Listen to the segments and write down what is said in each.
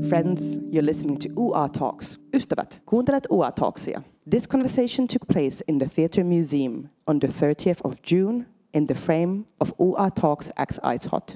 Friends, you're listening to UA Talks. Ystävät, kuuntelet UA Talksia. This conversation took place in the Theatre Museum on the 30th of June in the frame of UA Talks X Ice Hot.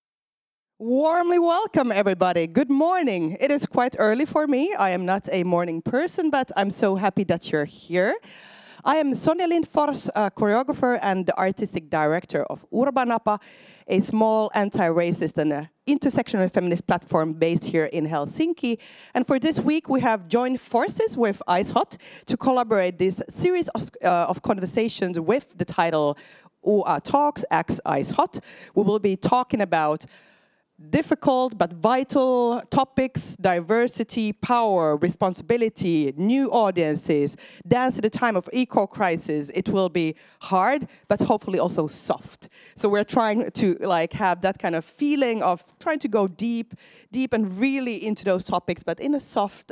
Warmly welcome, everybody. Good morning. It is quite early for me. I am not a morning person, but I'm so happy that you're here. I am Sonja Lindfors, a choreographer and the artistic director of Urbanapa, a small anti-racist and intersectional feminist platform based here in Helsinki. And for this week, we have joined forces with Ice Hot to collaborate this series of conversations with the title UA Talks X Ice Hot. We will be talking about difficult but vital topics: diversity, power, responsibility, new audiences, dance at a time of eco-crisis. It will be hard, but hopefully also soft. So we're trying to have that kind of feeling of trying to go deep and really into those topics, but in a soft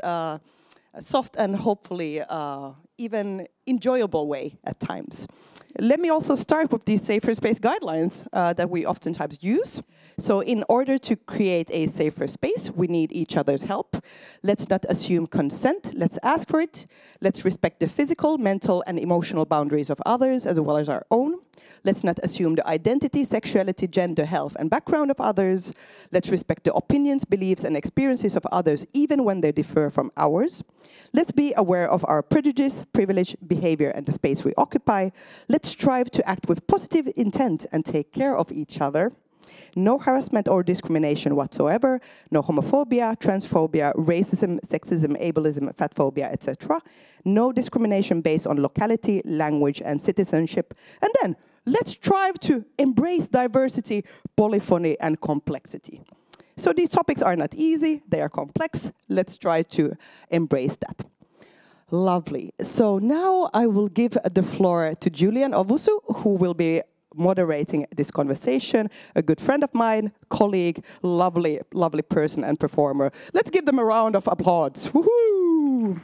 and hopefully even enjoyable way at times. Let me also start with these safer space guidelines that we oftentimes use. So in order to create a safer space, we need each other's help. Let's not assume consent. Let's ask for it. Let's respect the physical, mental, and emotional boundaries of others as well as our own. Let's not assume the identity, sexuality, gender, health, and background of others. Let's respect the opinions, beliefs, and experiences of others, even when they differ from ours. Let's be aware of our prejudice, privilege, behavior, and the space we occupy. Let's strive to act with positive intent and take care of each other. No harassment or discrimination whatsoever, no homophobia, transphobia, racism, sexism, ableism, fatphobia, etc. No discrimination based on locality, language, and citizenship. And then, let's strive to embrace diversity, polyphony, and complexity. So these topics are not easy, they are complex. Let's try to embrace that. Lovely. So now I will give the floor to Julian Ovusu, who will be moderating this conversation, a good friend of mine, colleague, lovely person and performer. Let's give them a round of applause. Woohoo!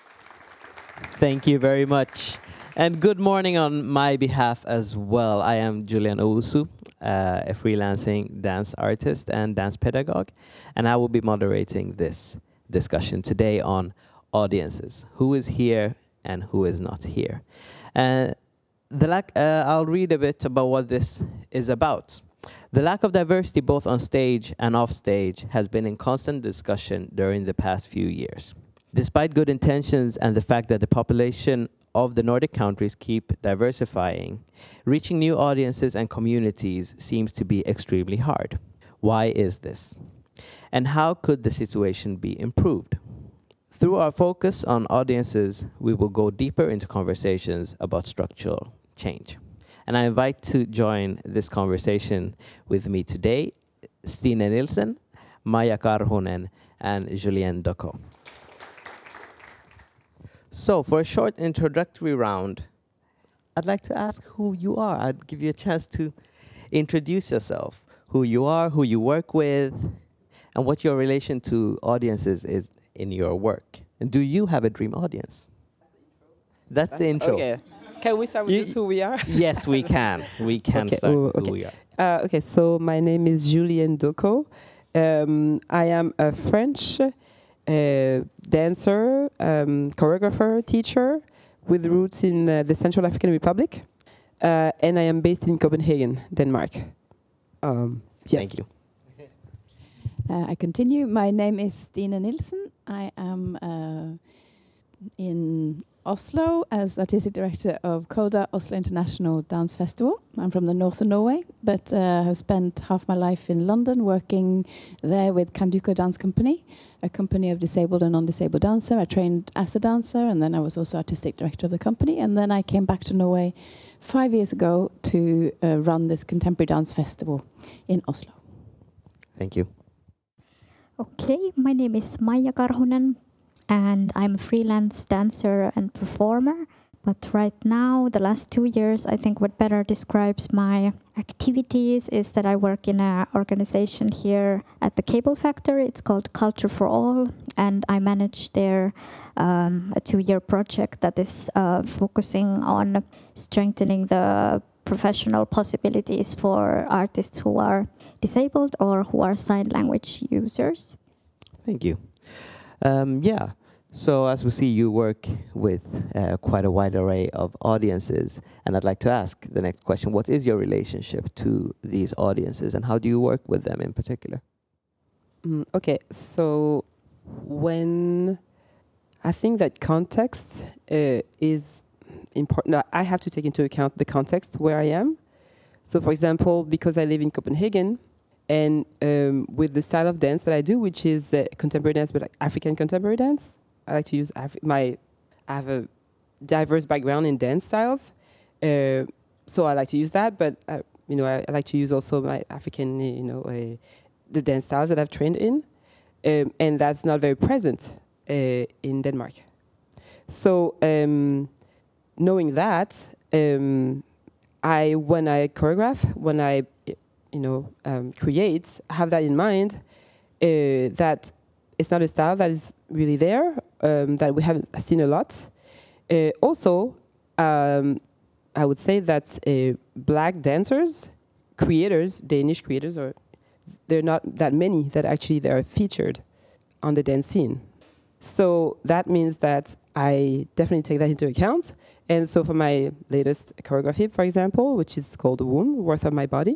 Thank you very much. And good morning on my behalf as well. I am Julian Owusu, a freelancing dance artist and dance pedagogue, and I will be moderating this discussion today on audiences. Who is here and who is not here? I'll read a bit about what this is about. The lack of diversity both on stage and off stage has been in constant discussion during the past few years. Despite good intentions and the fact that the population of the Nordic countries keep diversifying, reaching new audiences and communities seems to be extremely hard. Why is this? And how could the situation be improved? Through our focus on audiences, we will go deeper into conversations about structural change. And I invite to join this conversation with me today, Stine Nielsen, Maija Karhunen, and Julien Doko. So for a short introductory round, I'd like to ask who you are. I'd give you a chance to introduce yourself, who you are, who you work with, and what your relation to audiences is in your work. And do you have a dream audience? That's the intro. Okay. Can we start with just who we are? Yes, we can. We can start who we are. Okay, so my name is Julien Doko. I am a French dancer, choreographer, teacher with roots in the Central African Republic. And I am based in Copenhagen, Denmark. Yes. Thank you. I continue. My name is Stine Nielsen. I am in Oslo as artistic director of CODA, Oslo International Dance Festival. I'm from the north of Norway, but have spent half my life in London working there with Kanduko Dance Company, a company of disabled and non-disabled dancer. I trained as a dancer, and then I was also artistic director of the company. And then I came back to Norway 5 years ago to run this contemporary dance festival in Oslo. Thank you. Okay, my name is Maija Karhunen, and I'm a freelance dancer and performer. But right now, the last 2 years, I think what better describes my activities is that I work in an organization here at the Cable Factory. It's called Culture for All, and I manage their a 2-year project that is focusing on strengthening the professional possibilities for artists who are disabled or who are sign language users. Thank you. Yeah. So as we see, you work with quite a wide array of audiences, and I'd like to ask the next question: what is your relationship to these audiences, and how do you work with them in particular? Okay, so when I think that context is important, I have to take into account the context where I am. So, for example, because I live in Copenhagen, and with the style of dance that I do, which is contemporary dance, but like African contemporary dance, I like to use I have a diverse background in dance styles, so I like to use that. But I like to use also my African, the dance styles that I've trained in, and that's not very present in Denmark. So knowing that, when I choreograph, when I create, have that in mind, that it's not a style that is really there, that we haven't seen a lot. Also, I would say that black dancers, creators, Danish creators, they're not that many that actually they are featured on the dance scene. So that means that I definitely take that into account. And so for my latest choreography, for example, which is called The Womb, Worth of My Body,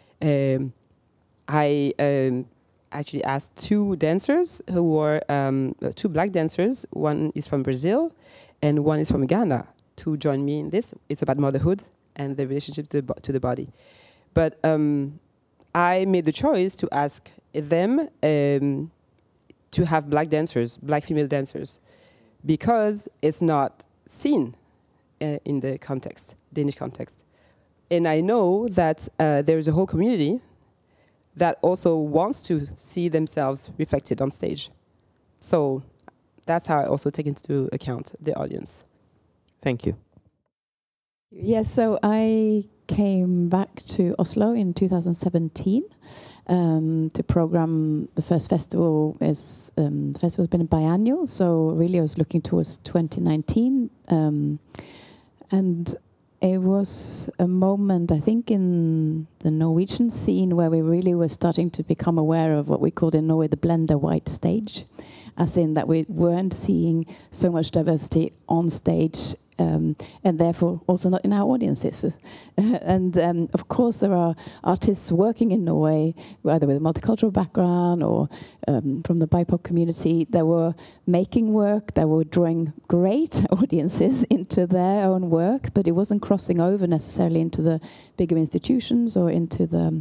I actually asked two dancers who were two black dancers. One is from Brazil and one is from Ghana to join me in this. It's about motherhood and the relationship to the body. But I made the choice to ask them to have black dancers, black female dancers, because it's not seen in the context, Danish context. And I know that there's a whole community that also wants to see themselves reflected on stage. So that's how I also take into account the audience. Thank you. Yes, so I came back to Oslo in 2017 to program the first festival. The festival's been biannual, so really I was looking towards 2019. And it was a moment, I think, in the Norwegian scene where we really were starting to become aware of what we called in Norway the blender white stage, as in that we weren't seeing so much diversity on stage, and therefore also not in our audiences. And of course there are artists working in Norway, either with a multicultural background or from the BIPOC community, that were making work, that were drawing great audiences into their own work, but it wasn't crossing over necessarily into the bigger institutions or into the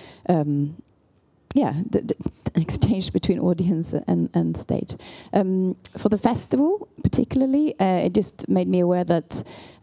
the exchange between audience and stage. For the festival, particularly, it just made me aware that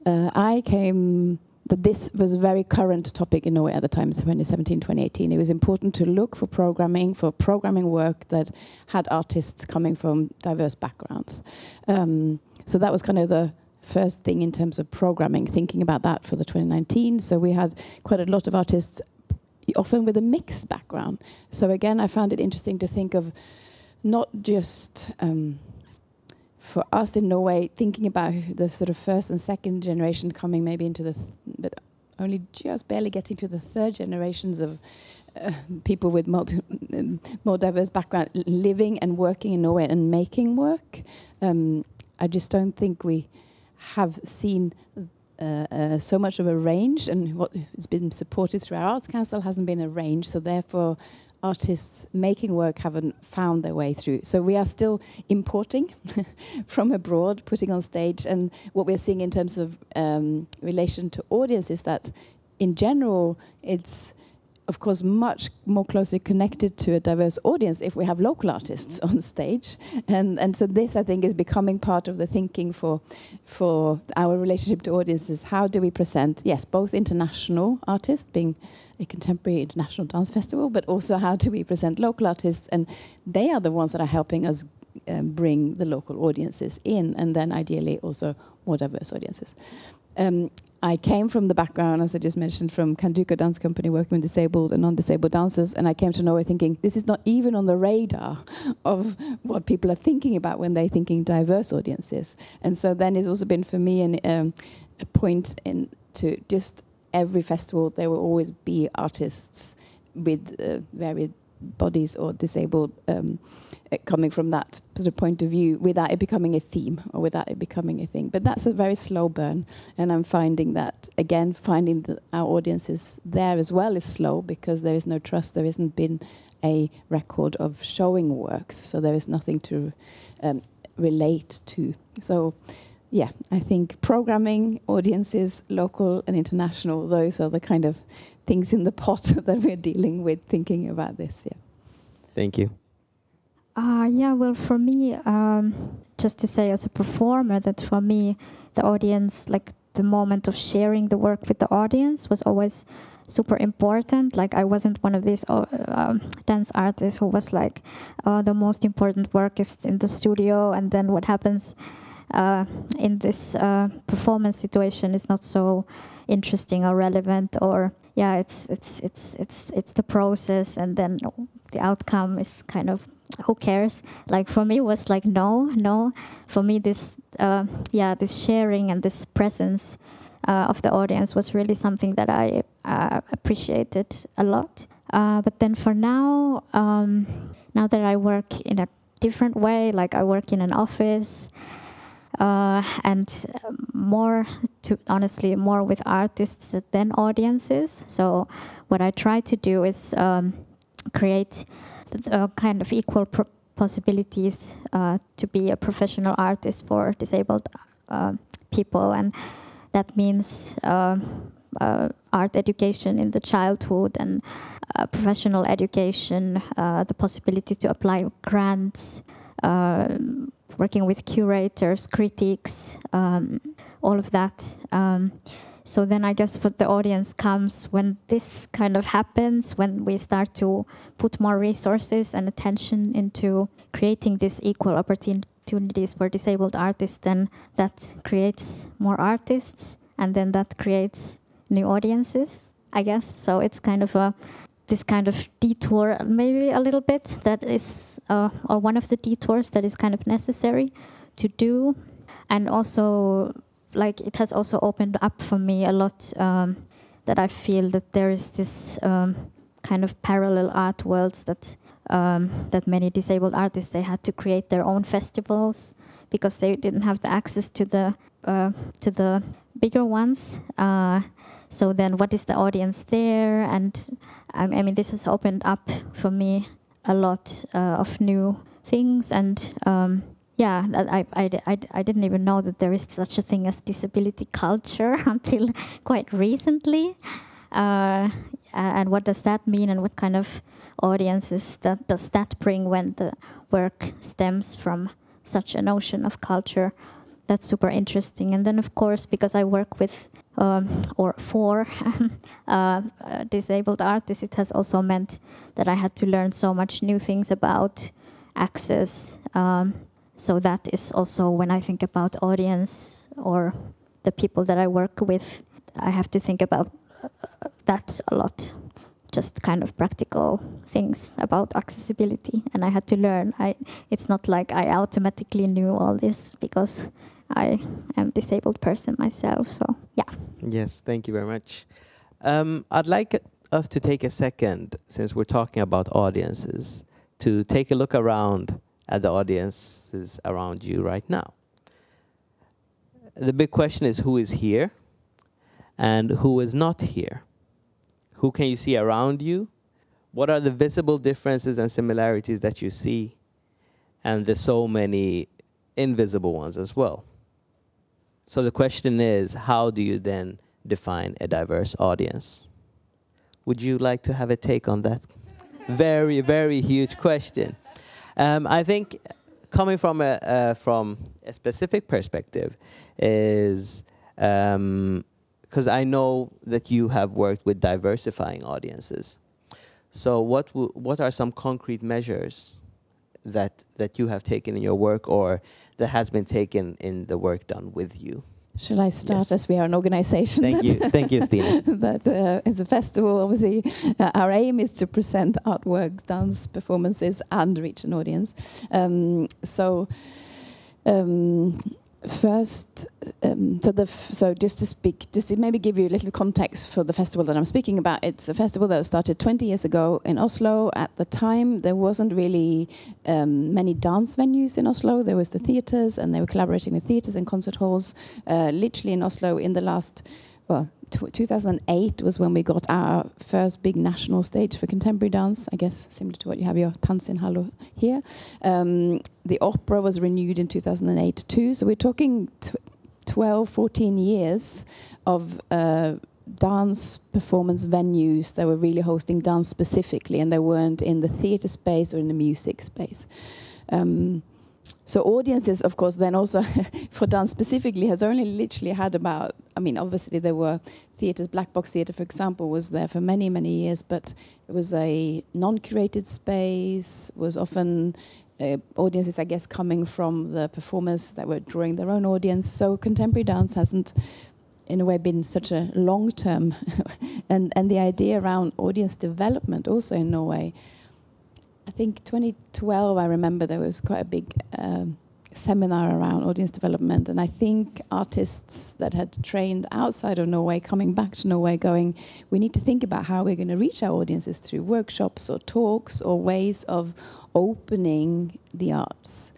that this was a very current topic in Norway at the time, 2017, 2018. It was important to look for programming work that had artists coming from diverse backgrounds. So that was kind of the first thing in terms of programming, thinking about that for the 2019. So we had quite a lot of artists, often with a mixed background. So again, I found it interesting to think of not just for us in Norway, thinking about the sort of first and second generation coming maybe into but only just barely getting to the third generations of people with more diverse background living and working in Norway and making work. I just don't think we have seen so much of a range, and what has been supported through our Arts Council hasn't been a range, so therefore artists making work haven't found their way through. So we are still importing from abroad, putting on stage, and what we're seeing in terms of relation to audience is that in general it's of course much more closely connected to a diverse audience if we have local artists on stage, and so this I think is becoming part of the thinking for our relationship to audiences. How do we present, yes, both international artists, being a contemporary international dance festival, but also how do we present local artists, and they are the ones that are helping us bring the local audiences in, and then ideally also more diverse audiences. I came from the background, as I just mentioned, from Kanduko Dance Company, working with disabled and non-disabled dancers, and I came to Norway thinking, this is not even on the radar of what people are thinking about when they're thinking diverse audiences. And so then it's also been for me a point to just every festival, there will always be artists with varied bodies or disabled, coming from that sort of point of view, without it becoming a theme or without it becoming a thing. But that's a very slow burn, and I'm finding that again, finding that our audiences there as well is slow, because there is no trust. There hasn't been a record of showing works, so there is nothing to relate to. So yeah, I think programming, audiences, local and international, those are the kind of things in the pot that we're dealing with thinking about this. Yeah. Thank you. Yeah, well, for me, just to say as a performer, that for me, the audience, like the moment of sharing the work with the audience was always super important. Like I wasn't one of these dance artists who was like, the most important work is in the studio, and then what happens in this performance situation is not so interesting or relevant, or yeah, it's the process, and then the outcome is kind of, who cares? Like for me, it was like no. For me, this this sharing and this presence of the audience was really something that I appreciated a lot. But then for now, now that I work in a different way, like I work in an office, and more with artists than audiences. So what I try to do is create kind of equal possibilities to be a professional artist for disabled people, and that means art education in the childhood and professional education, the possibility to apply grants, working with curators, critics, all of that. So then I guess what the audience comes when this kind of happens, when we start to put more resources and attention into creating these equal opportunities for disabled artists, then that creates more artists, and then that creates new audiences, I guess. So it's kind of this kind of detour, maybe a little bit, that is, or one of the detours that is kind of necessary to do. And also, like, it has also opened up for me a lot, that I feel that there is this kind of parallel art worlds that many disabled artists, they had to create their own festivals because they didn't have the access to the bigger ones. So then what is the audience there? And I mean, this has opened up for me a lot of new things. And yeah, I didn't even know that there is such a thing as disability culture until quite recently. And what does that mean, and what kind of audiences does that bring when the work stems from such a notion of culture? That's super interesting. And then, of course, because I work with or for disabled artists, it has also meant that I had to learn so much new things about access. So that is also, when I think about audience or the people that I work with, I have to think about that a lot. Just kind of practical things about accessibility, and I had to learn. It's not like I automatically knew all this because I am a disabled person myself, so yeah. Yes, thank you very much. I'd like us to take a second, since we're talking about audiences, to take a look around at the audiences around you right now. The big question is, who is here and who is not here? Who can you see around you? What are the visible differences and similarities that you see? And there's so many invisible ones as well. So the question is, how do you then define a diverse audience? Would you like to have a take on that very, very huge question? I think coming from a specific perspective is, because I know that you have worked with diversifying audiences. So what are some concrete measures that you have taken in your work, or that has been taken in the work done with you? Shall I start, Yes. as we are an organization? Thank you, Stina. That as a festival, obviously, our aim is to present artworks, dance performances, and reach an audience. First, so just to maybe give you a little context for the festival that I'm speaking about. It's a festival that started 20 years ago in Oslo. At the time, there wasn't really many dance venues in Oslo. There was the theatres, and they were collaborating with theatres and concert halls. Literally in Oslo, in the last, 2008 was when we got our first big national stage for contemporary dance, I guess, similar to what you have your Tansinhallo here. The opera was renewed in 2008 too, so we're talking 12, 14 years of dance performance venues that were really hosting dance specifically, and they weren't in the theatre space or in the music space. So audiences, of course, then also for dance specifically has only literally had about, obviously there were theatres, Black Box Theatre, for example, was there for many, many years, but it was a non-curated space, was often audiences, I guess, coming from the performers that were drawing their own audience. So contemporary dance hasn't, in a way, been such a long-term, and the idea around audience development also in Norway. I think 2012, I remember there was quite a big seminar around audience development, and I think artists that had trained outside of Norway coming back to Norway going, we need to think about how we're going to reach our audiences through workshops or talks or ways of opening the arts.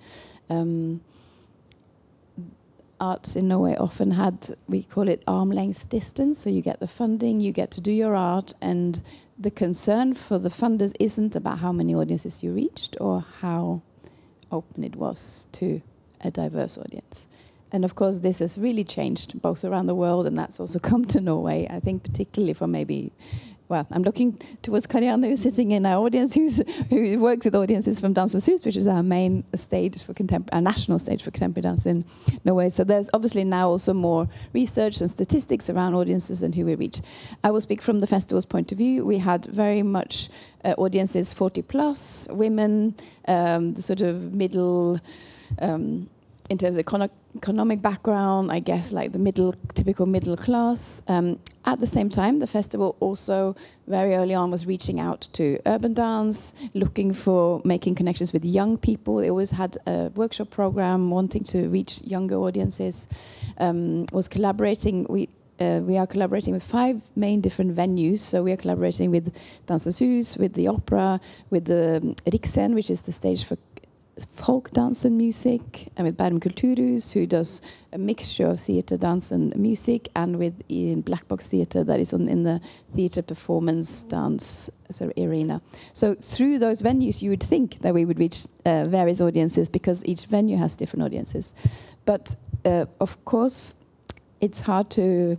Arts in Norway often had, we call it arm-length distance, so you get the funding, you get to do your art, and the concern for the funders isn't about how many audiences you reached or how open it was to a diverse audience. And of course, this has really changed both around the world, and that's also come to Norway, I think particularly from maybe, I'm looking towards Karianne, who's sitting in our audience, who works with audiences from Dansens Hus, which is our main stage for our national stage for contemporary dance in Norway. So there's obviously now also more research and statistics around audiences and who we reach. I will speak from the festival's point of view. We had very much audiences 40 plus, women, the sort of middle, in terms of economic background, I guess like the typical middle class. At the same time, the festival also very early on was reaching out to urban dance, looking for making connections with young people. They always had a workshop program wanting to reach younger audiences. Was collaborating. We are collaborating with 5 main different venues. So we are collaborating with Dansens Hus, with the opera, with the Riksen, which is the stage for folk dance and music, and with Bærum Kulturhus, who does a mixture of theatre, dance and music, and with Black Box Theatre that is in the theatre performance dance sort of arena. So through those venues you would think that we would reach various audiences because each venue has different audiences. But of course it's hard to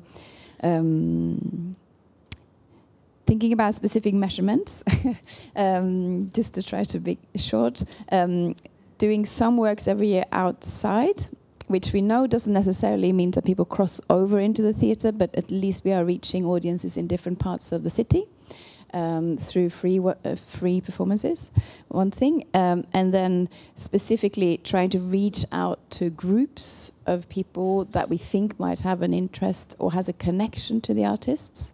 thinking about specific measurements, just to try to be short, doing some works every year outside, which we know doesn't necessarily mean that people cross over into the theatre, but at least we are reaching audiences in different parts of the city through free performances, one thing, and then specifically trying to reach out to groups of people that we think might have an interest or has a connection to the artists.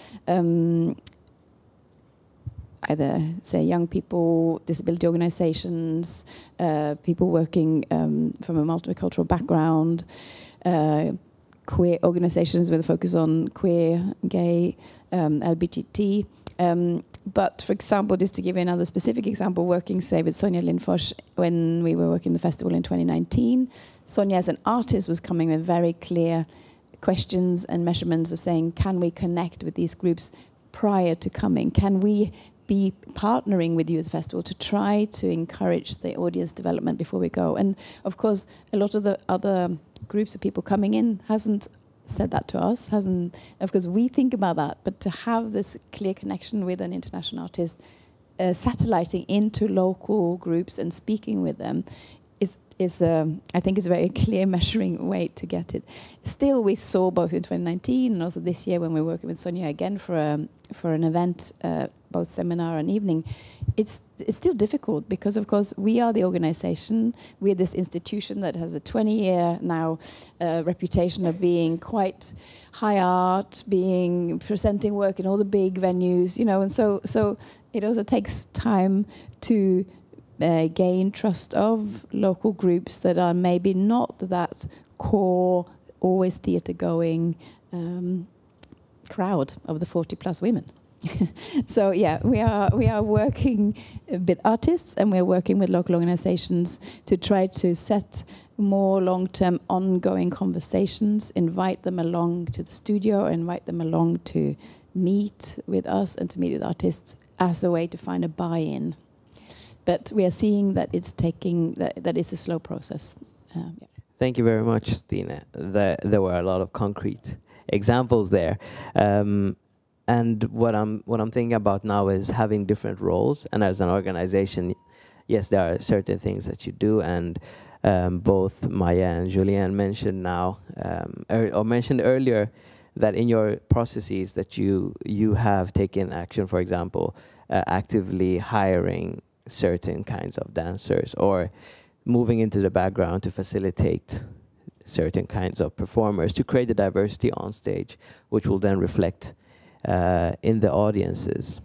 Either, say, young people, disability organizations, people working from a multicultural background, queer organizations with a focus on queer, gay, LGBT. But, for example, just to give you another specific example, working, say, with Sonja Lindfors when we were working the festival in 2019, Sonja as an artist was coming with very clear questions and measurements of saying, can we connect with these groups prior to coming? Can we be partnering with you as a festival to try to encourage the audience development before we go? And of course, a lot of the other groups of people coming in hasn't said that to us, of course we think about that, but to have this clear connection with an international artist, satelliting into local groups and speaking with them is I think is a very clear measuring way to get it. Still, we saw both in 2019 and also this year when we're working with Sonja again for an event, both seminar and evening, it's still difficult because of course we are the organization, we're this institution that has a 20-year now reputation of being quite high art, presenting work in all the big venues, and so it also takes time to gain trust of local groups that are maybe not that core, always theatre-going crowd of the 40-plus women. So yeah, we are working with artists, and we are working with local organizations to try to set more long-term ongoing conversations, invite them along to the studio, invite them along to meet with us and to meet with artists as a way to find a buy-in. But we are seeing that it's taking, that is a slow process. Yeah. Thank you very much, Stine. There were a lot of concrete examples there. And what I'm thinking about now is having different roles. And as an organization, yes, there are certain things that you do. And both Maya and Julien mentioned now, or mentioned earlier, that in your processes that you have taken action, for example, actively hiring certain kinds of dancers or moving into the background to facilitate certain kinds of performers to create the diversity on stage, which will then reflect in the audiences.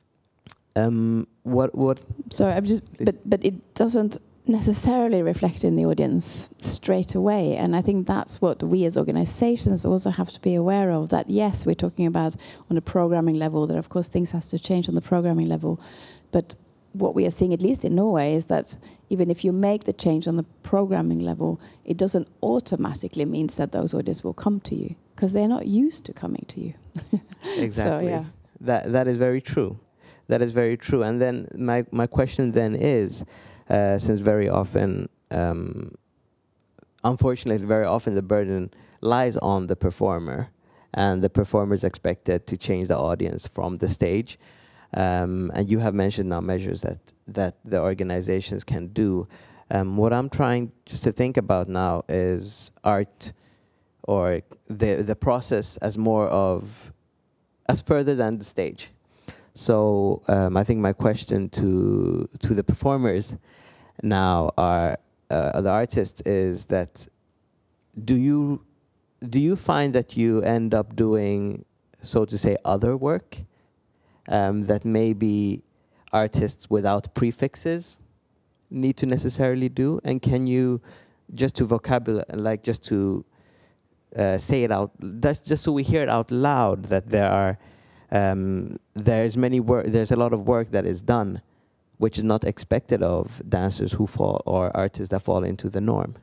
What? So I'm just, but it doesn't necessarily reflect in the audience straight away, and I think that's what we as organizations also have to be aware of. That yes, we're talking about on a programming level. That of course things has to change on the programming level, but what we are seeing, at least in Norway, is that even if you make the change on the programming level, it doesn't automatically means that those audiences will come to you, because they're not used to coming to you. Exactly. So, yeah. That is very true. That is very true. And then my question then is, since very often, unfortunately, very often the burden lies on the performer, and the performer is expected to change the audience from the stage. And you have mentioned now measures that the organizations can do. What I'm trying just to think about now is art, or the process as more of, as further than the stage. So I think my question to the performers now are, the artists, is that do you find that you end up doing, so to say, other work that maybe artists without prefixes need to necessarily do? And can you, just to vocabulary, like just to say it out, that's just so we hear it out loud, that there are there's a lot of work that is done which is not expected of dancers who fall, or artists that fall into the norm?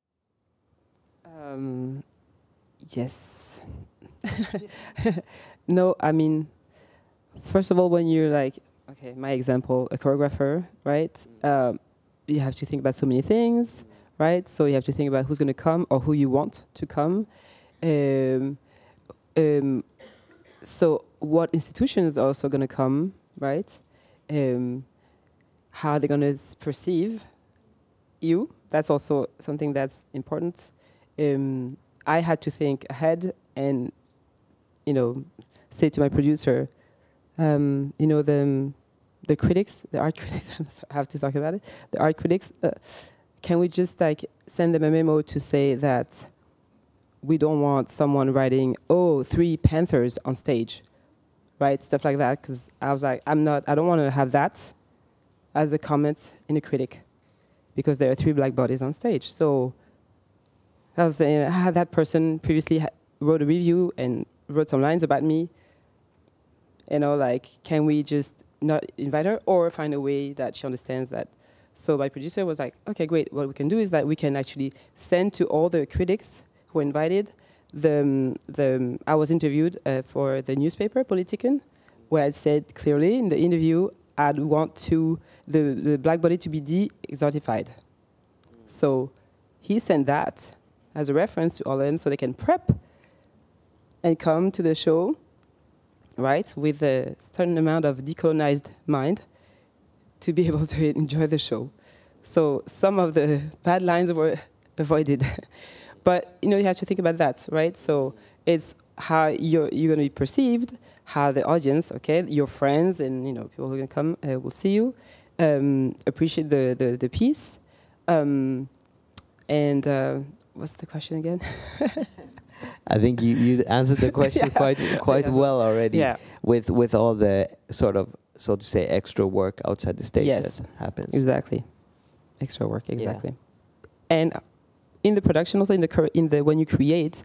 Yes. No, I mean, first of all, when you're like, okay, my example, a choreographer, right? You have to think about so many things, right? So you have to think about who's going to come or who you want to come. So what institutions are also going to come, right? How they're going to perceive you. That's also something that's important. I had to think ahead and, say to my producer, the critics, the art critics, I have to talk about it, the art critics, can we just send them a memo to say that we don't want someone writing, 3 panthers on stage, right? Stuff like that, because I was like, I don't want to have that as a comment in a critic, because there are 3 black bodies on stage. So I was saying, I had that person previously wrote a review and wrote some lines about me, can we just not invite her, or find a way that she understands that? So my producer was like, okay, great. What we can do is that we can actually send to all the critics who were invited. I was interviewed for the newspaper, Politiken, where I said clearly in the interview, I'd want the black body to be de-exotified. So he sent that as a reference to all of them, so they can prep and come to the show, right, with a certain amount of decolonized mind to be able to enjoy the show. So some of the bad lines were avoided. But, you have to think about that, right? So it's how you're going to be perceived, how the audience, okay, your friends and, people who are going to come will see you, appreciate the piece. And what's the question again? I think you answered the question quite well already. Yeah. With all the sort of, so to say, extra work outside the stage that happens. Exactly. Extra work, exactly. Yeah. And, in the production, also in the when you create,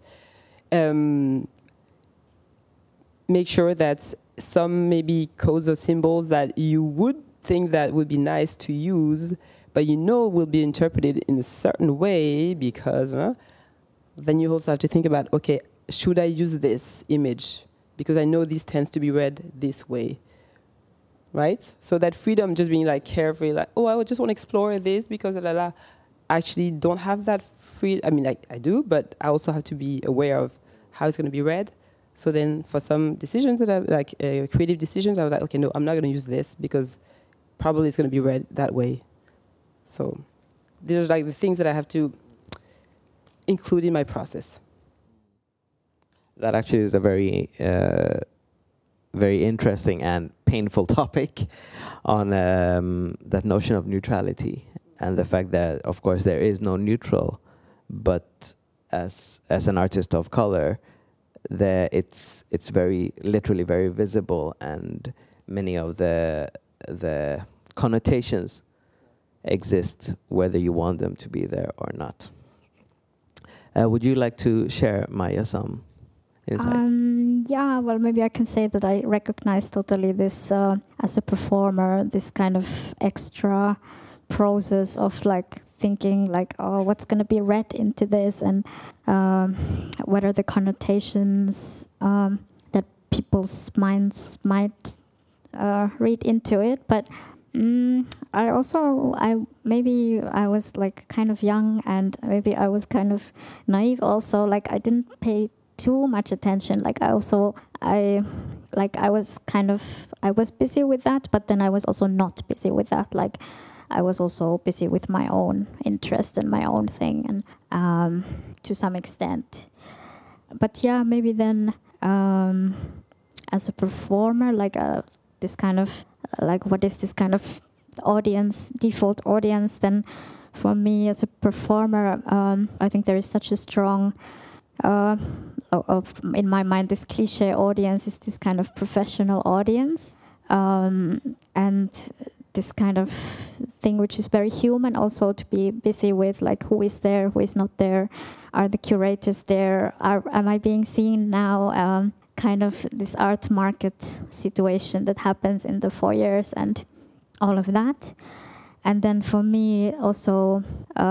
make sure that some maybe codes or symbols that you would think that would be nice to use, but you know will be interpreted in a certain way, because then you also have to think about, okay, should I use this image? Because I know this tends to be read this way, right? So that freedom, just being like carefree, like, oh, I would just want to explore this because I actually don't have that free. I mean, like I do, but I also have to be aware of how it's going to be read. So then for some decisions that I like, creative decisions, I was like, okay, no, I'm not going to use this because probably it's going to be read that way. So these are like the things that I have to include in my process. That actually is a very, very interesting and painful topic on that notion of neutrality and the fact that, of course, there is no neutral, but as an artist of color, it's very literally very visible, and many of the connotations exist whether you want them to be there or not. Would you like to share, Maya, some insight? Yeah, well, maybe I can say that I recognize totally this as a performer, this kind of extra process of like thinking like, oh, what's going to be read into this, and what are the connotations that people's minds might read into it. But I was like kind of young, and maybe I was kind of naive also. Like I didn't pay too much attention. Like I was busy with that, but then I was also not busy with that. Like I was also busy with my own interest and my own thing, and to some extent. But yeah, maybe then as a performer, like this kind of like, what is this kind of audience, default audience? Then for me as a performer, I think there is such a strong in my mind, this cliche audience is this kind of professional audience, and this kind of thing which is very human also, to be busy with, like who is there, who is not there, are the curators there, am I being seen now, kind of this art market situation that happens in the foyers and all of that. And then for me also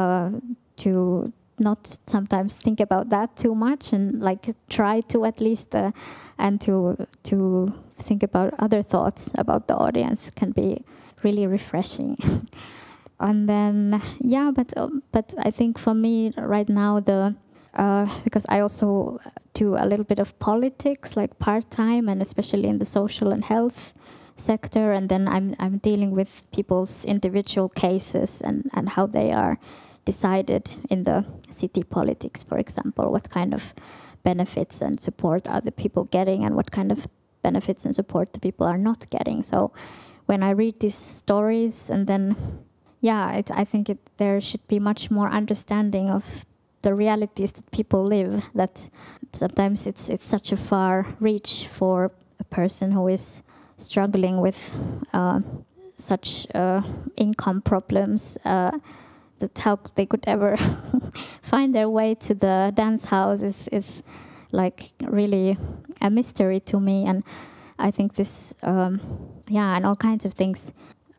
to not sometimes think about that too much, and like try to at least and to think about other thoughts about the audience can be really refreshing. And then yeah, but I think for me right now because I also do a little bit of politics, like part-time, and especially in the social and health sector, and then I'm dealing with people's individual cases and how they are decided in the city politics, for example. What kind of benefits and support are the people getting, and what kind of benefits and support the people are not getting. So when I read these stories, and then yeah, I think there should be much more understanding of the realities that people live, that sometimes it's such a far reach for a person who is struggling with such income problems, that how they could ever find their way to the dance house is like really a mystery to me. And I think this, and all kinds of things,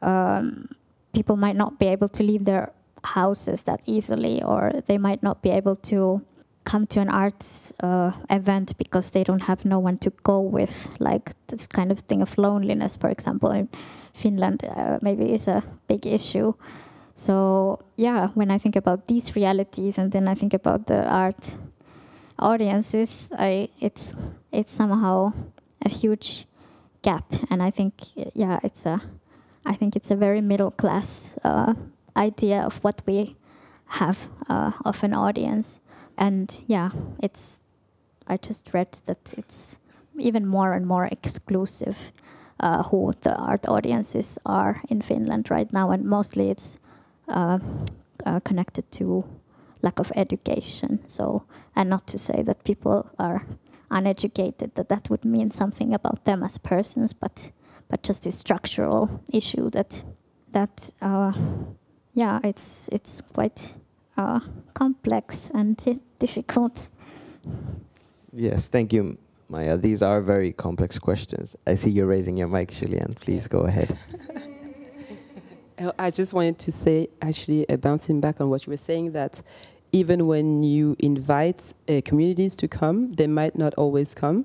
people might not be able to leave their houses that easily, or they might not be able to come to an arts event because they don't have no one to go with, like this kind of thing of loneliness, for example, in Finland maybe is a big issue. So yeah, when I think about these realities, and then I think about the art audiences, it's somehow a huge gap, and I think it's a very middle class idea of what we have of an audience. And yeah, I just read that it's even more and more exclusive who the art audiences are in Finland right now, and mostly it's connected to lack of education. So, and not to say that people are uneducated, that would mean something about them as persons, but just this structural issue that it's quite complex and difficult. Yes, thank you, Maya. These are very complex questions. I see you're raising your mic, Julian. Please go ahead. I just wanted to say, actually, bouncing back on what you were saying, that even when you invite communities to come, they might not always come.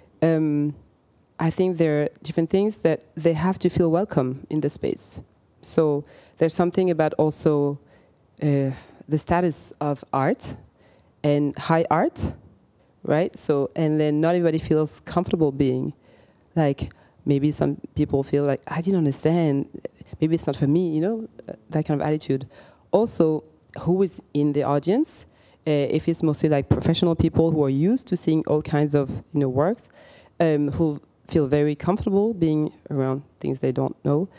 I think there are different things that they have to feel welcome in the space. So there's something about also the status of art and high art, right? So, and then not everybody feels comfortable being, like, maybe some people feel like, I didn't understand, maybe it's not for me, you know, that kind of attitude. Also, who is in the audience? If it's mostly like professional people who are used to seeing all kinds of, you know, works, who feel very comfortable being around things they don't know,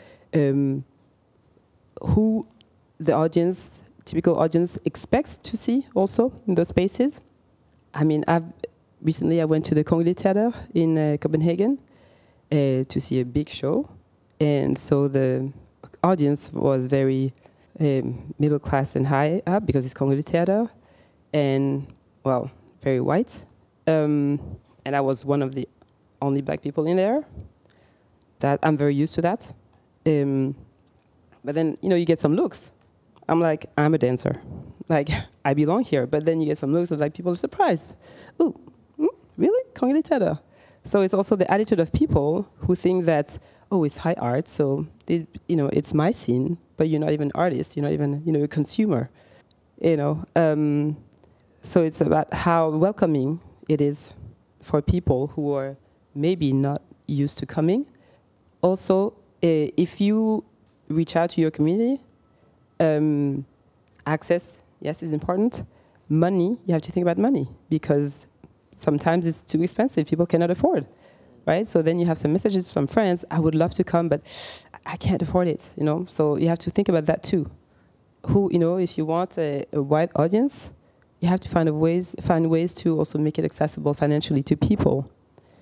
who the audience, typical audience, expects to see also in those spaces. I mean, recently I went to the Kongelig Theater in Copenhagen to see a big show, and so the audience was very middle class and high up because it's Kongelig Theater, and well, very white. And I was one of the only black people in there. That I'm very used to that. But then, you know, you get some looks. I'm like, I'm a dancer. Like, I belong here. But then you get some looks of like people are surprised. Ooh, really? Kongelig Theater? So it's also the attitude of people who think that, oh, it's high art, so you know, it's my scene, but you're not even an artist, you're not even, you know, a consumer. You know, so it's about how welcoming it is for people who are maybe not used to coming. Also, if you reach out to your community, access, yes, is important. Money, you have to think about money, because sometimes it's too expensive, people cannot afford, right? So then you have some messages from friends, I would love to come, but I can't afford it, you know? So you have to think about that too. Who, you know, if you want a wide audience, you have to find ways to also make it accessible financially to people.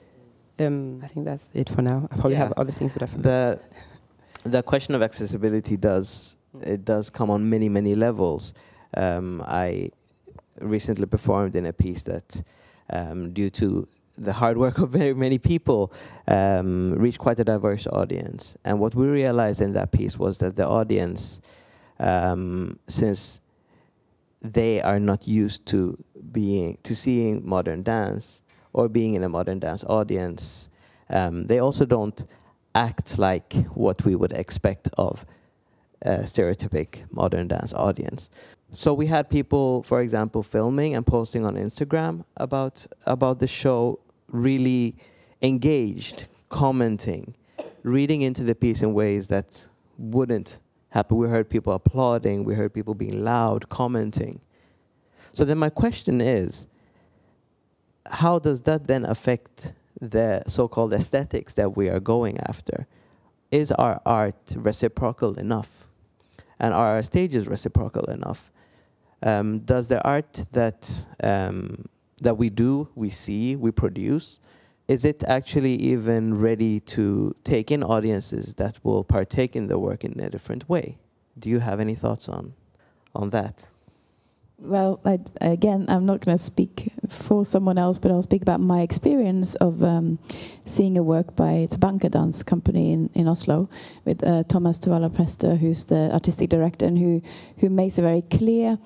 I think that's it for now. I probably have other things, but I forgot. The question of accessibility does come on many levels. I recently performed in a piece that, due to the hard work of very many people, reached quite a diverse audience. And what we realized in that piece was that the audience, since they are not used to seeing modern dance or being in a modern dance audience, they also don't act like what we would expect of a stereotypic modern dance audience. So we had people, for example, filming and posting on Instagram about the show, really engaged, commenting, reading into the piece in ways that wouldn't happen. We heard people applauding, we heard people being loud, commenting. So then my question is, how does that then affect the so-called aesthetics that we are going after? Is our art reciprocal enough? And are our stages reciprocal enough? Does the art that we do, we see, we produce, is it actually even ready to take in audiences that will partake in the work in a different way? Do you have any thoughts on that? Well, again, I'm not going to speak for someone else, but I'll speak about my experience of seeing a work by Tabanka Dance Company in Oslo with Thomas Tuvala Prester, who's the artistic director, and who makes a very clear,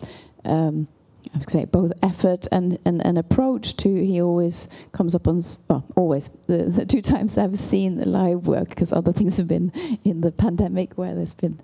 I would say, both effort and an approach to. He always comes up on, well, always the two times I've seen the live work, because other things have been in the pandemic where there's been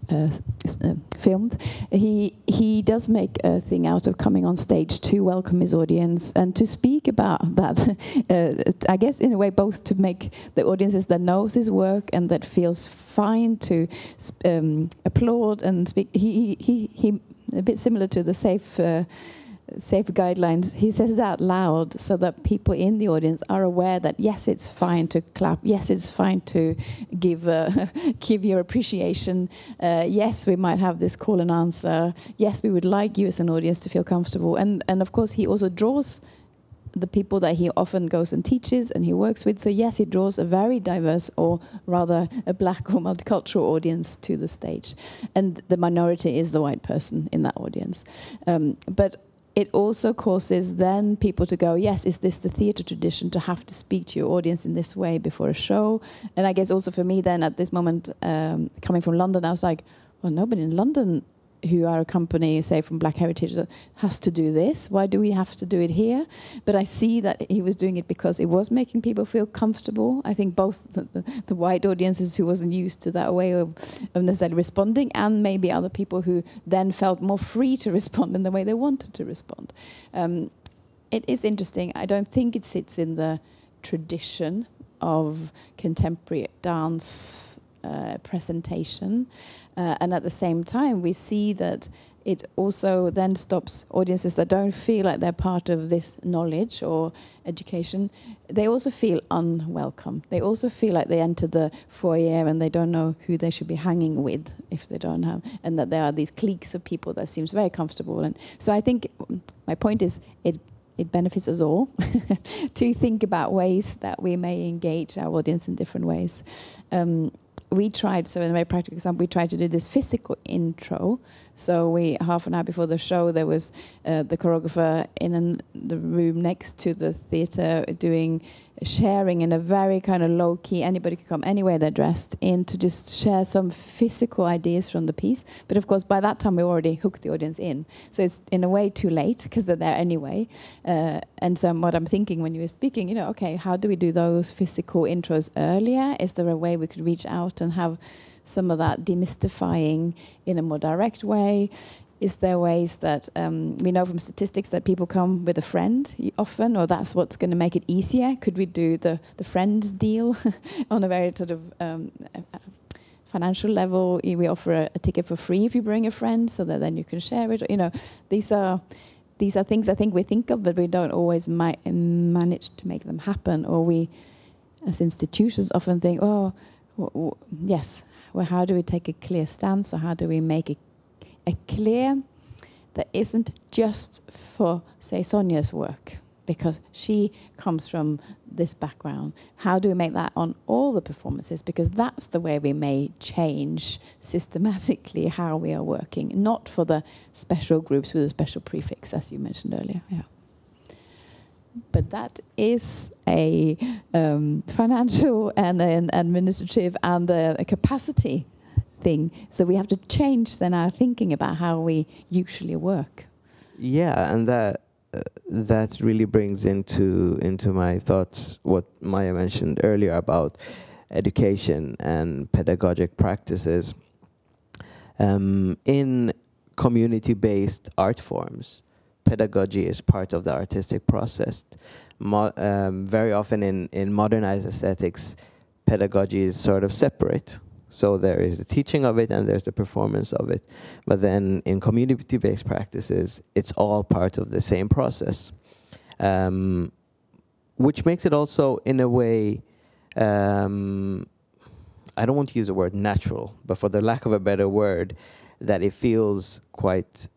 filmed. He does make a thing out of coming on stage to welcome his audience and to speak about that. I guess in a way both to make the audiences that knows his work and that feels fine to applaud and speak. He a bit similar to the safe guidelines. He says it out loud so that people in the audience are aware that yes, it's fine to clap. Yes, it's fine to give your appreciation. Yes, we might have this call and answer. Yes, we would like you as an audience to feel comfortable. And of course, he also draws the people that he often goes and teaches and he works with. So yes, he draws a very diverse, or rather a black or multicultural audience to the stage. And the minority is the white person in that audience. But it also causes then people to go, yes, is this the theatre tradition to have to speak to your audience in this way before a show? And I guess also for me then at this moment, coming from London, I was like, well, nobody in London who are a company, say, from Black Heritage that has to do this. Why do we have to do it here? But I see that he was doing it because it was making people feel comfortable. I think both the white audiences who wasn't used to that way of necessarily responding, and maybe other people who then felt more free to respond in the way they wanted to respond. It is interesting. I don't think it sits in the tradition of contemporary dance presentation. And at the same time, we see that it also then stops audiences that don't feel like they're part of this knowledge or education. They also feel unwelcome. They also feel like they enter the foyer and they don't know who they should be hanging with if they don't have, and that there are these cliques of people that seems very comfortable. And so I think my point is it benefits us all to think about ways that we may engage our audience in different ways. We tried, so in a very practical example, we tried to do this physical intro. So half an hour before the show, there was the choreographer in the room next to the theatre doing sharing in a very kind of low-key, anybody could come anywhere they're dressed in, to just share some physical ideas from the piece. But of course, by that time, we already hooked the audience in. So it's in a way too late, because they're there anyway. And so what I'm thinking when you were speaking, okay, how do we do those physical intros earlier? Is there a way we could reach out and have some of that demystifying in a more direct way? Is there ways that we know from statistics that people come with a friend often, or that's what's going to make it easier? Could we do the friends deal on a very sort of financial level? We offer a ticket for free if you bring a friend, so that then you can share it. These are things I think we think of, but we don't always manage to make them happen. Or we, as institutions, often think, yes. Well, how do we take a clear stance, or how do we make a clear that isn't just for, say, Sonja's work, because she comes from this background? How do we make that on all the performances? Because that's the way we may change systematically how we are working, not for the special groups with a special prefix, as you mentioned earlier. Yeah. But that is a financial and an administrative and a capacity thing. So we have to change then our thinking about how we usually work. Yeah, and that really brings into my thoughts what Maya mentioned earlier about education and pedagogic practices. In community-based art forms, pedagogy is part of the artistic process. Very often in modernized aesthetics, pedagogy is sort of separate. So there is the teaching of it and there's the performance of it. But then in community-based practices, it's all part of the same process. Which makes it also, in a way, I don't want to use the word natural, but for the lack of a better word, that it feels quite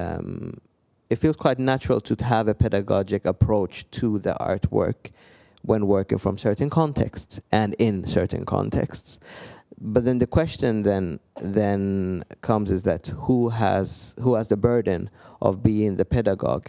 natural to have a pedagogic approach to the artwork when working from certain contexts and in certain contexts. But then the question then comes is that who has the burden of being the pedagogue?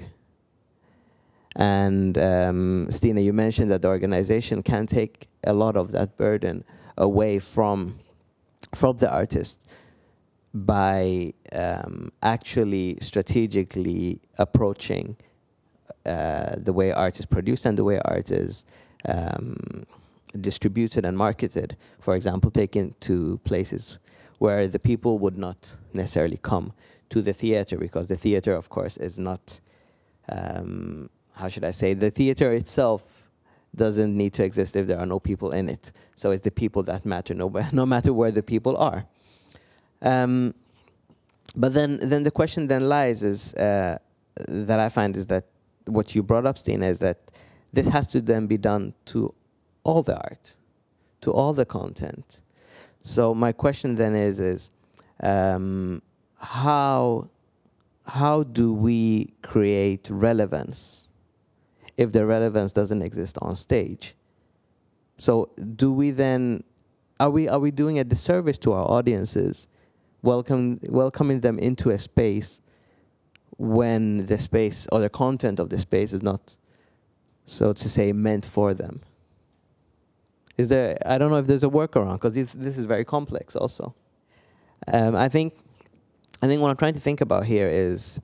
And Stina, you mentioned that the organization can take a lot of that burden away from the artist by actually strategically approaching the way art is produced and the way art is distributed and marketed. For example, taken to places where the people would not necessarily come to the theater, because the theater, of course, is not, how should I say, the theater itself doesn't need to exist if there are no people in it. So it's the people that matter, no matter where the people are. But then the question then lies is, that I find is that what you brought up, Stina, is that this has to then be done to all the art, to all the content. So my question then is how do we create relevance if the relevance doesn't exist on stage. So do we then, are we doing a disservice to our audiences, welcoming them into a space when the space or the content of the space is not, so to say, meant for them? Is there, I don't know if there's a workaround, because this is very complex also. I think what I'm trying to think about here is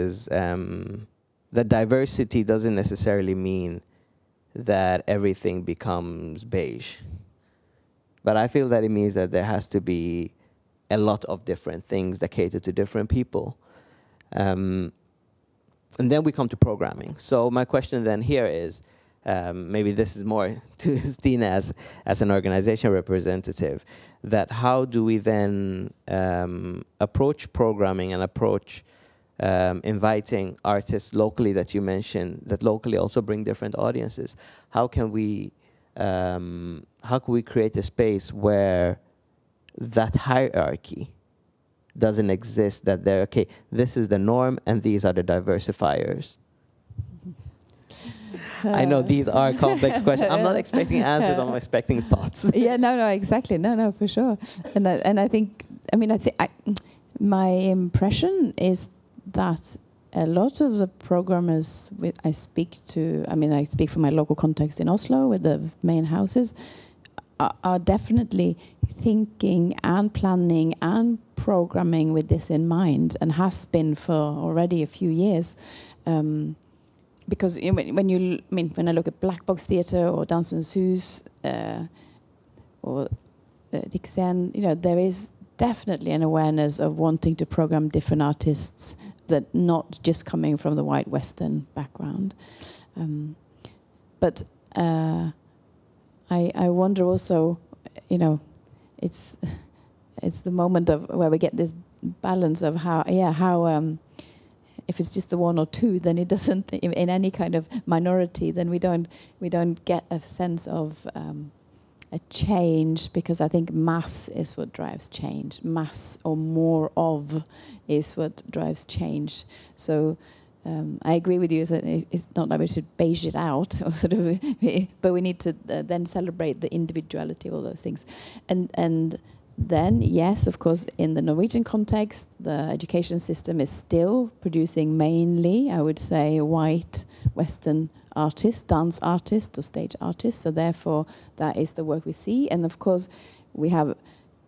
that diversity doesn't necessarily mean that everything becomes beige. But I feel that it means that there has to be a lot of different things that cater to different people. And then we come to programming. So my question then here is, maybe this is more to Stina as an organization representative, that how do we then approach programming and approach inviting artists locally that you mentioned, that locally also bring different audiences? How can we create a space where that hierarchy doesn't exist, that they're, okay, this is the norm and these are the diversifiers? I know these are complex questions. I'm not expecting answers, I'm expecting thoughts. Yeah, no, exactly. No, for sure. And I think, my impression is that a lot of the programmers I speak to, I speak from my local context in Oslo with the main houses, are definitely thinking and planning and programming with this in mind, and has been for already a few years. Because when I look at Black Box Theatre or Dansens Hus or Riksscenen, there is definitely an awareness of wanting to program different artists, that not just coming from the white Western background. But I wonder also, it's the moment of where we get this balance of how if it's just the one or two, then it doesn't, in any kind of minority, then we don't get a sense of a change, because I think mass is what drives change. Mass or more of is what drives change. So I agree with you. It's not that we should beige it out, or sort of, but we need to then celebrate the individuality of all those things, and then, yes, of course, in the Norwegian context, the education system is still producing mainly, I would say, white Western artists, dance artists or stage artists. So therefore, that is the work we see. And of course, we have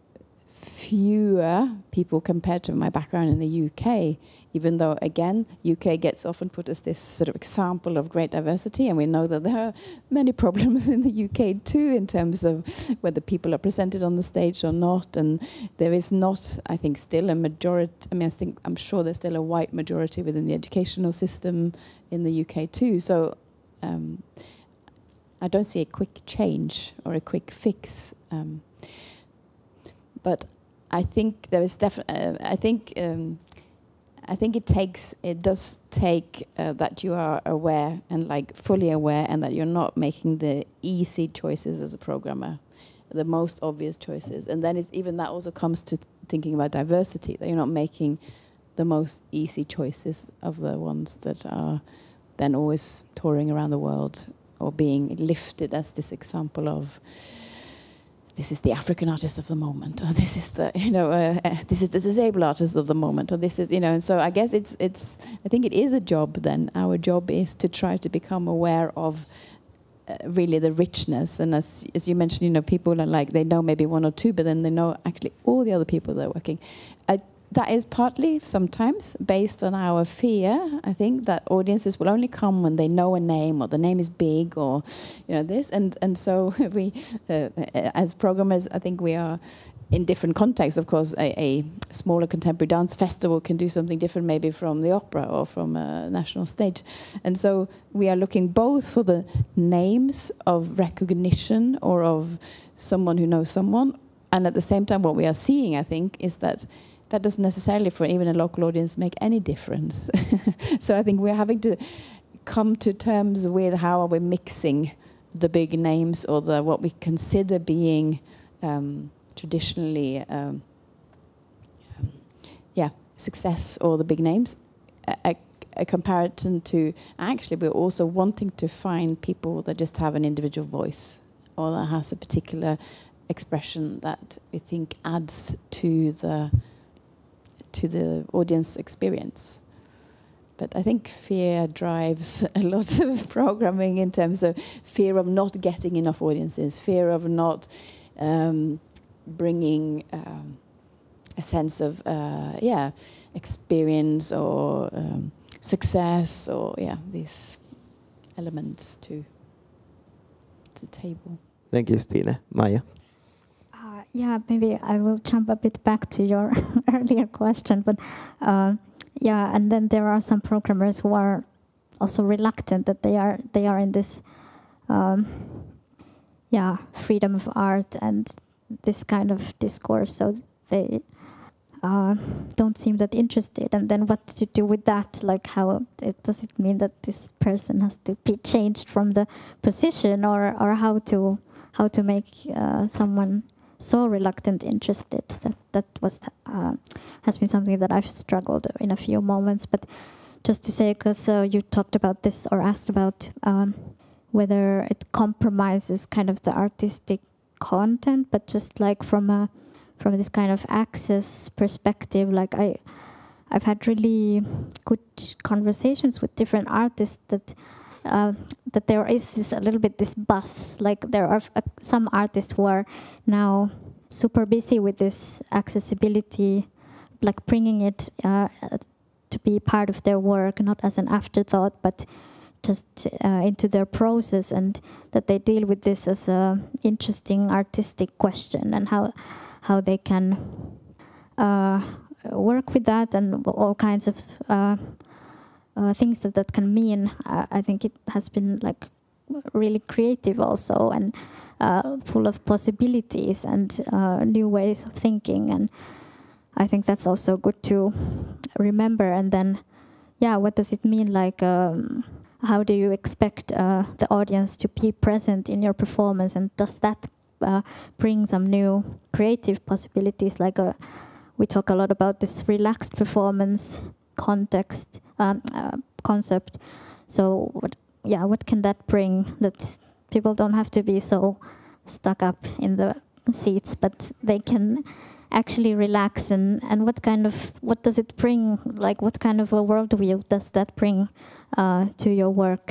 fewer people compared to my background in the UK, even though, again, UK gets often put as this sort of example of great diversity, and we know that there are many problems in the UK too, in terms of whether people are presented on the stage or not, and there is not, I think, still a majority, I'm sure there's still a white majority within the educational system in the UK too, so I don't see a quick change or a quick fix, but I think there is definitely. I think it does take that you are aware and fully aware, and that you're not making the easy choices as a programmer, the most obvious choices. And then even that also comes to thinking about diversity, that you're not making the most easy choices of the ones that are then always touring around the world or being lifted as this example of, this is the African artist of the moment, or this is the this is the disabled artist of the moment, or this is and so I guess it's I think it is a job. Then our job is to try to become aware of really the richness, and as you mentioned, people are they know maybe one or two, but then they know actually all the other people that are working. That is partly sometimes based on our fear. I think that audiences will only come when they know a name, or the name is big, or this. And so we, as programmers, I think we are in different contexts. Of course, a smaller contemporary dance festival can do something different, maybe from the opera or from a national stage. And so we are looking both for the names of recognition or of someone who knows someone, and at the same time, what we are seeing, I think, is that doesn't necessarily, for even a local audience, make any difference. So I think we're having to come to terms with how are we mixing the big names, or what we consider being traditionally success, or the big names, a comparison to actually we're also wanting to find people that just have an individual voice or that has a particular expression that we think adds to the audience experience. But I think fear drives a lot of programming in terms of fear of not getting enough audiences, fear of not bringing a sense of experience or success or these elements to the table. Thank you, Stine. Maja? Yeah, maybe I will jump a bit back to your earlier question, but and then there are some programmers who are also reluctant that they are in this freedom of art and this kind of discourse, so they don't seem that interested. And then what to do with that? Like, how does it mean that this person has to be changed from the position, or how to make someone so reluctant interested? That has been something that I've struggled in a few moments. But just to say, because you talked about this or asked about whether it compromises kind of the artistic content, but just like from this kind of access perspective, like I've had really good conversations with different artists that there is this a little bit this buzz. Like there are some artists who are now super busy with this accessibility, like bringing it to be part of their work, not as an afterthought, but just into their process, and that they deal with this as a interesting artistic question, and how they can work with that, and all kinds of things that can mean. I think it has been like really creative also, and full of possibilities and new ways of thinking, and I think that's also good to remember. And then, what does it mean? Like, how do you expect the audience to be present in your performance, and does that bring some new creative possibilities? Like we talk a lot about this relaxed performance context concept. So what can that bring? That people don't have to be so stuck up in the seats, but they can actually relax. And what does it bring? Like, what kind of a worldview does that bring to your work?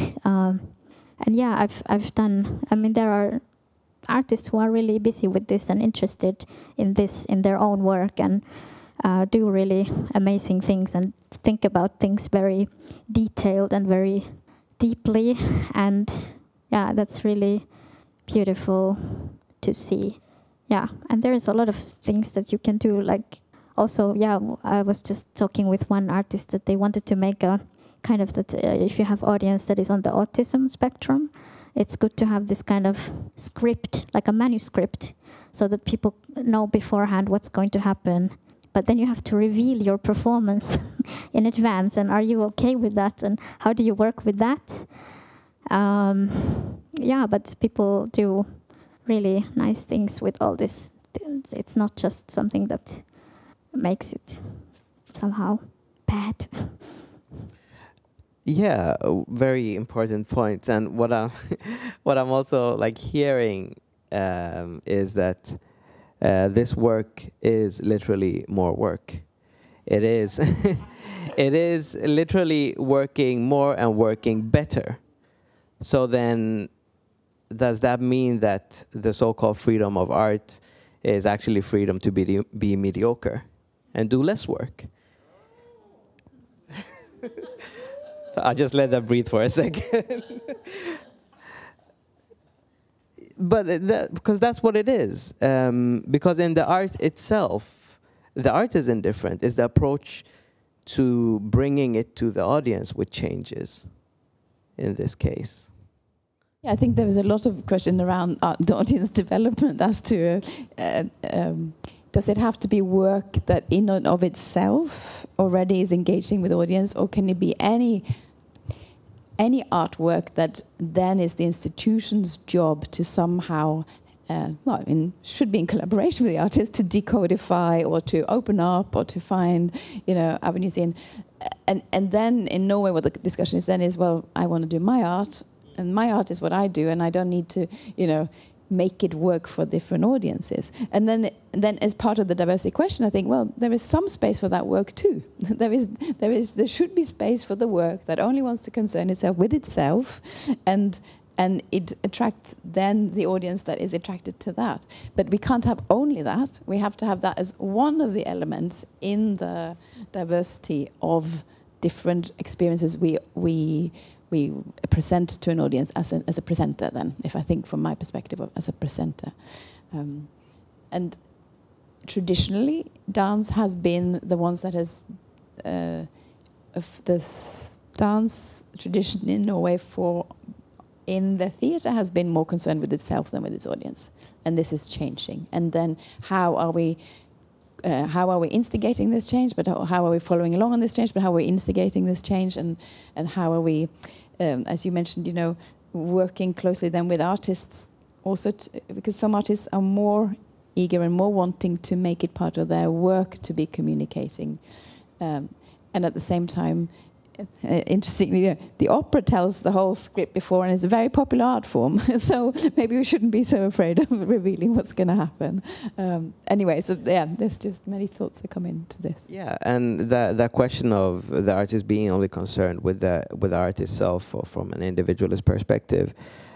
I've done. I mean, there are artists who are really busy with this and interested in this in their own work, and do really amazing things and think about things very detailed and very deeply. And that's really beautiful to see. And there is a lot of things that you can do. Like also, I was just talking with one artist that they wanted to make a kind of that if you have audience that is on the autism spectrum, it's good to have this kind of script, like a manuscript, so that people know beforehand what's going to happen. But then you have to reveal your performance in advance. And are you okay with that? And how do you work with that? But people do really nice things with all this. It's not just something that makes it somehow bad. Yeah, very important points. And what I'm also like hearing is that this work is literally more work. It is, it is literally working more and working better. So then, does that mean that the so-called freedom of art is actually freedom to be mediocre and do less work? So I'll just let that breathe for a second. But because that's what it is. Because in the art itself, the art is indifferent. It's the approach to bringing it to the audience which changes in this case. I think there was a lot of question around the audience development as to does it have to be work that in and of itself already is engaging with the audience, or can it be any artwork that then is the institution's job to somehow should be in collaboration with the artist to decodify or to open up or to find, avenues in. And then in Norway, what the discussion is then is, well, I want to do my art, and my art is what I do, and I don't need to, make it work for different audiences. And then as part of the diversity question, I think, well, there is some space for that work too. There should be space for the work that only wants to concern itself with itself, and it attracts then the audience that is attracted to that. But we can't have only that. We have to have that as one of the elements in the diversity of different experiences we present to an audience as a presenter then, if I think from my perspective as a presenter. And traditionally, dance has been the ones that has, of the dance tradition in Norway in the theatre has been more concerned with itself than with its audience. And this is changing. And then how are we instigating this change, but how are we following along on this change, but how are we instigating this change, and how are we, as you mentioned, working closely then with artists also, because some artists are more eager and more wanting to make it part of their work to be communicating. And at the same time, interestingly, the opera tells the whole script before, and it's a very popular art form. So maybe we shouldn't be so afraid of revealing what's going to happen. Anyway, so there's just many thoughts that come into this. Yeah, and that question of the artist being only concerned with the art itself, or from an individualist perspective,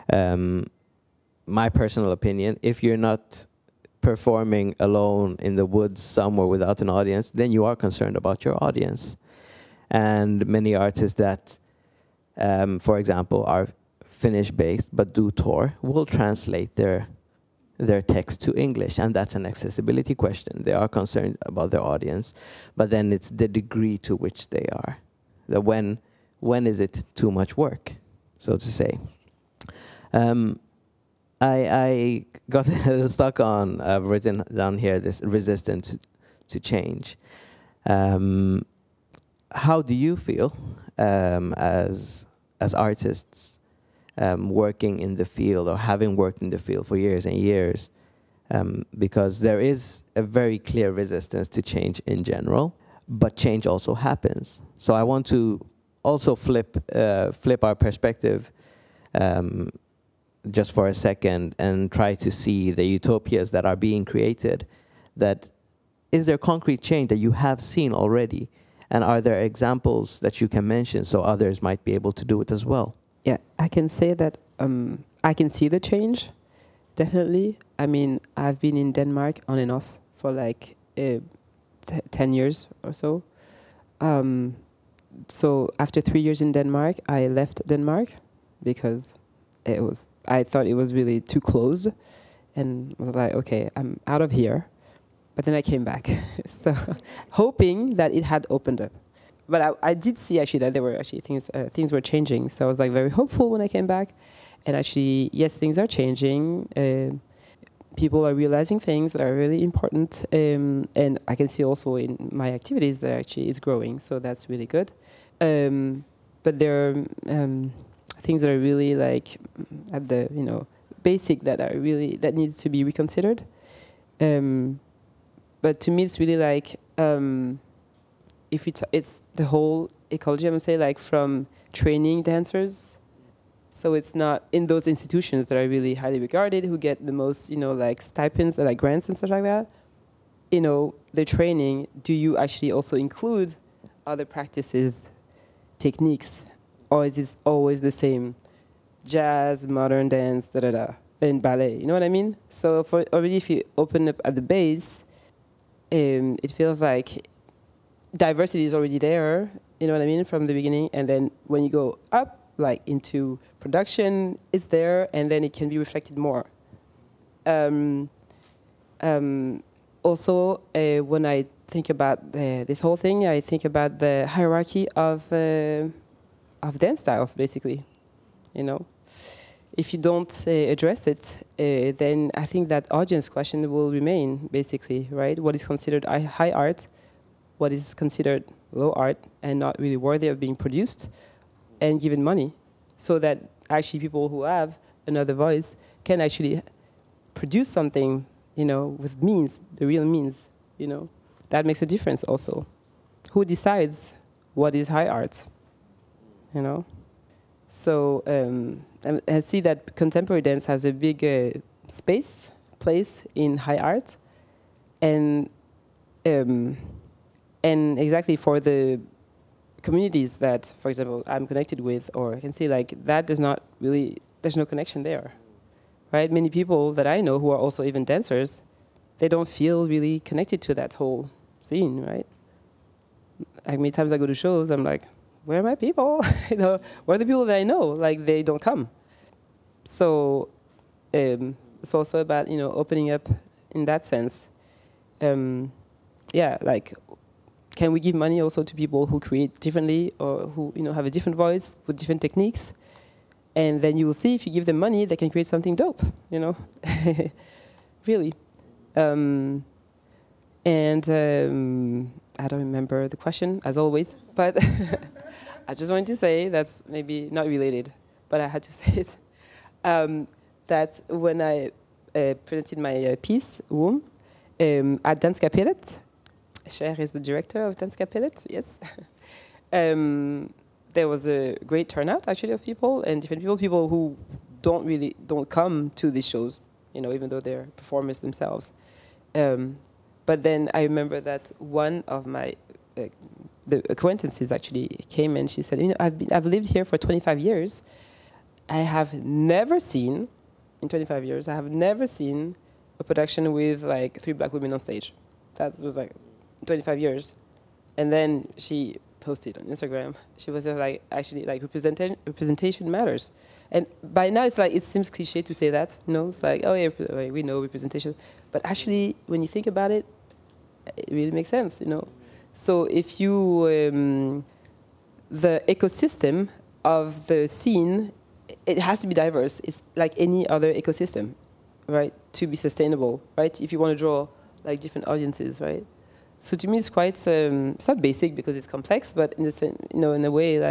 my personal opinion, if you're not performing alone in the woods somewhere without an audience, then you are concerned about your audience. And many artists that, for example, are Finnish-based but do tour will translate their text to English, and that's an accessibility question. They are concerned about their audience, but then it's the degree to which they are. When is it too much work, so to say? I got a little stuck on, I've written down here, this resistance to change. How do you feel as artists working in the field, or having worked in the field for years and years? Because there is a very clear resistance to change in general, but change also happens. So I want to also flip our perspective just for a second and try to see the utopias that are being created. That is there concrete change that you have seen already? And are there examples that you can mention so others might be able to do it as well? Yeah, I can say that I can see the change, definitely. I mean, I've been in Denmark on and off for like 10 years or so. So after 3 years in Denmark, I left Denmark because I thought it was really too closed, and was like, okay, I'm out of here. But then I came back, so hoping that it had opened up. But I did see actually that there were actually things were changing. So I was like very hopeful when I came back, and actually yes, things are changing. People are realizing things that are really important, and I can see also in my activities that actually it's growing. So that's really good. But there are things that are really like at the basic that needs to be reconsidered. But to me, it's really like it's the whole ecology. I'm saying like from training dancers. So it's not in those institutions that are really highly regarded, who get the most, like stipends or like grants and stuff like that. The training. Do you actually also include other practices, techniques, or is it always the same? Jazz, modern dance, and ballet. You know what I mean? So already, if you open up at the base, it feels like diversity is already there. You know what I mean, from the beginning, and then when you go up, like into production, it's there, and then it can be reflected more. Also, when I think about this whole thing, I think about the hierarchy of dance styles, basically. If you don't address it, then I think that audience question will remain, basically, right? What is considered high art, what is considered low art, and not really worthy of being produced and given money, so that actually people who have another voice can actually produce something, with means, the real means, that makes a difference also. Who decides what is high art, So I see that contemporary dance has a big place in high art, and exactly for the communities that, for example, I'm connected with, or I can see that there's no connection there, right? Many people that I know who are also even dancers, they don't feel really connected to that whole scene, right? Like many times I go to shows, I'm like, where are my people? Where are the people that I know? They don't come. So it's also about opening up in that sense. Can we give money also to people who create differently, or who have a different voice with different techniques? And then you will see, if you give them money, they can create something dope. Really. I don't remember the question, as always, but I just wanted to say, that's maybe not related, but I had to say it, that when I presented my piece, Womb, at Danskapellet, Cher is the director of Danskapellet, yes. There was a great turnout, actually, of people, and different people who don't come to these shows, even though they're performers themselves. But then I remember that one of my the acquaintances actually came, and she said, I've lived here for 25 years. I have never seen, in 25 years, I have never seen a production with 3 black women on stage. That was 25 years. And then she posted on Instagram. She was actually representation matters. And by now it seems cliche to say that, It's oh yeah, we know representation. But actually, when you think about it, it really makes sense, So if you, the ecosystem of the scene, it has to be diverse. It's like any other ecosystem, right? To be sustainable, right? If you want to draw different audiences, right? So to me, it's quite, it's not basic because it's complex, but in in a way,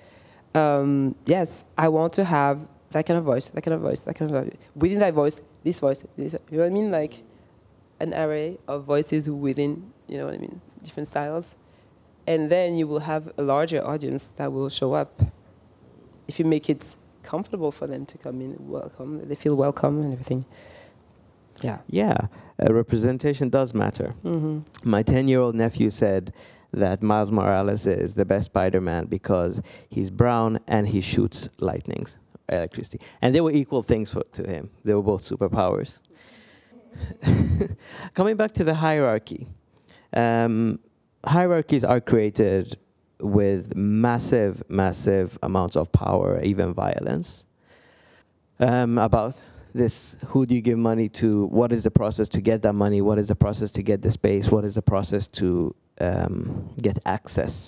yes, I want to have that kind of voice, that kind of voice, that kind of voice. Within that voice, this, you know what I mean? An array of voices within, different styles. And then you will have a larger audience that will show up. If you make it comfortable for them to come in, they feel welcome and everything. Yeah. Yeah, representation does matter. Mm-hmm. My 10-year-old nephew said that Miles Morales is the best Spider-Man because he's brown and he shoots electricity. And they were equal things to him. They were both superpowers. Coming back to the hierarchy. Hierarchies are created with massive amounts of power, even violence. About this, who do you give money to? What is the process to get that money? What is the process to get the space? What is the process to get access?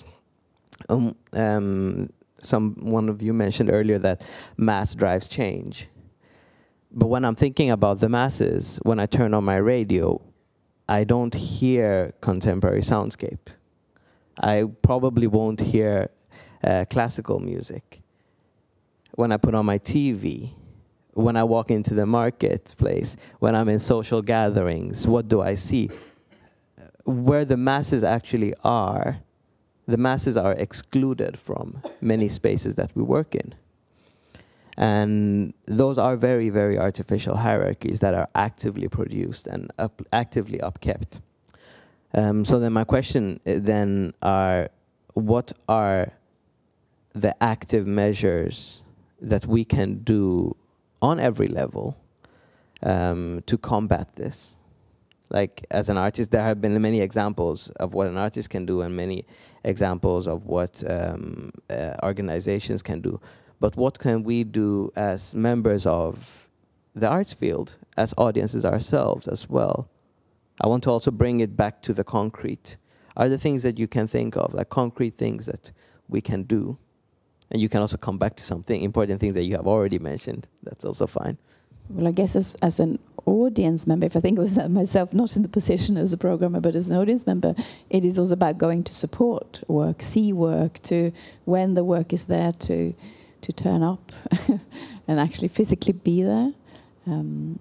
One of you mentioned earlier that mass drives change. But when I'm thinking about the masses, when I turn on my radio, I don't hear contemporary soundscape. I probably won't hear classical music. When I put on my TV, when I walk into the marketplace, when I'm in social gatherings, what do I see? Where the masses actually are, the masses are excluded from many spaces that we work in. And those are very, very artificial hierarchies that are actively produced and actively upkept. So then my question then are, what are the active measures that we can do on every level to combat this? Like, as an artist, there have been many examples of what an artist can do and many examples of what organizations can do. But what can we do as members of the arts field, as audiences ourselves as well? I want to also bring it back to the concrete. Are there things that you can think of, like concrete things that we can do? And you can also come back to something important things that you have already mentioned. That's also fine. Well, I guess as an audience member, if I think of myself not in the position as a programmer, but as an audience member, it is also about going to support work, see work, to when the work is there to turn up and actually physically be there.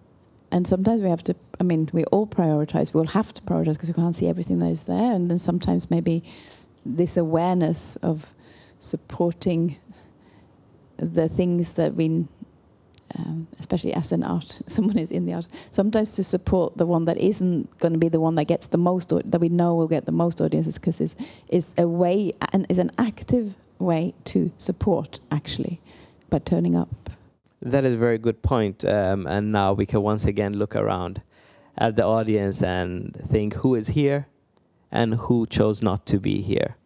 And sometimes we have to, I mean, we all prioritize, we all have to prioritize because we can't see everything that is there. And then sometimes maybe this awareness of supporting the things that we, especially as an art, someone is in the art, sometimes to support the one that isn't going to be the one that gets the most, that we know will get the most audiences, because is a way, and is an active way to support, actually, by turning up. That is a very good point. And now we can once again look around at the audience and think who is here and who chose not to be here.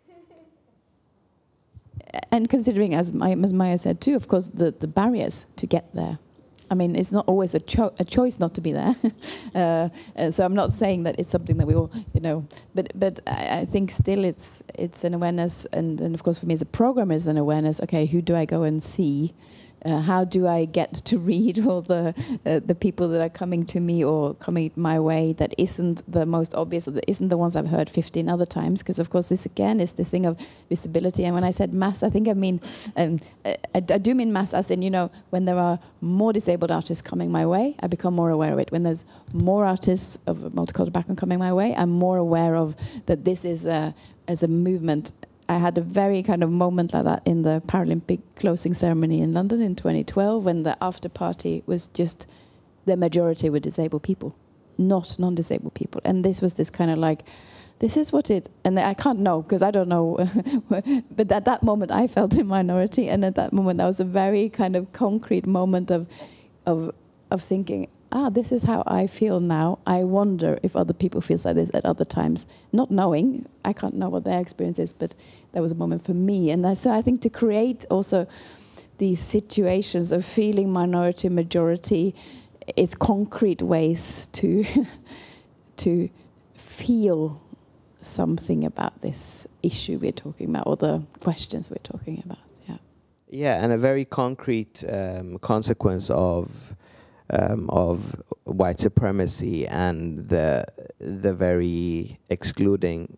And considering, as Maya said too, of course, the barriers to get there. I mean, it's not always a choice not to be there. So I'm not saying that it's something that we all, but I think still it's an awareness, and of course for me as a programmer, is an awareness. Okay, who do I go and see? How do I get to read all the people that are coming to me or coming my way that isn't the most obvious, or that isn't the ones I've heard 15 other times? Because of course this again is this thing of visibility. And when I said mass, I think I mean I do mean mass as in, when there are more disabled artists coming my way, I become more aware of it. When there's more artists of a multicultural background coming my way, I'm more aware of that this is as a movement. I had a very kind of moment like that in the Paralympic closing ceremony in London in 2012, when the after party was just the majority were disabled people, not non-disabled people. And this was this kind of like, this is what it, and I can't know because I don't know, but at that moment I felt in minority, and at that moment that was a very kind of concrete moment of thinking, this is how I feel now. I wonder if other people feel like this at other times. Not knowing, I can't know what their experience is, but that was a moment for me. And so I think to create also these situations of feeling minority, majority, is concrete ways to to feel something about this issue we're talking about, or the questions we're talking about. Yeah, and a very concrete consequence of white supremacy and the very excluding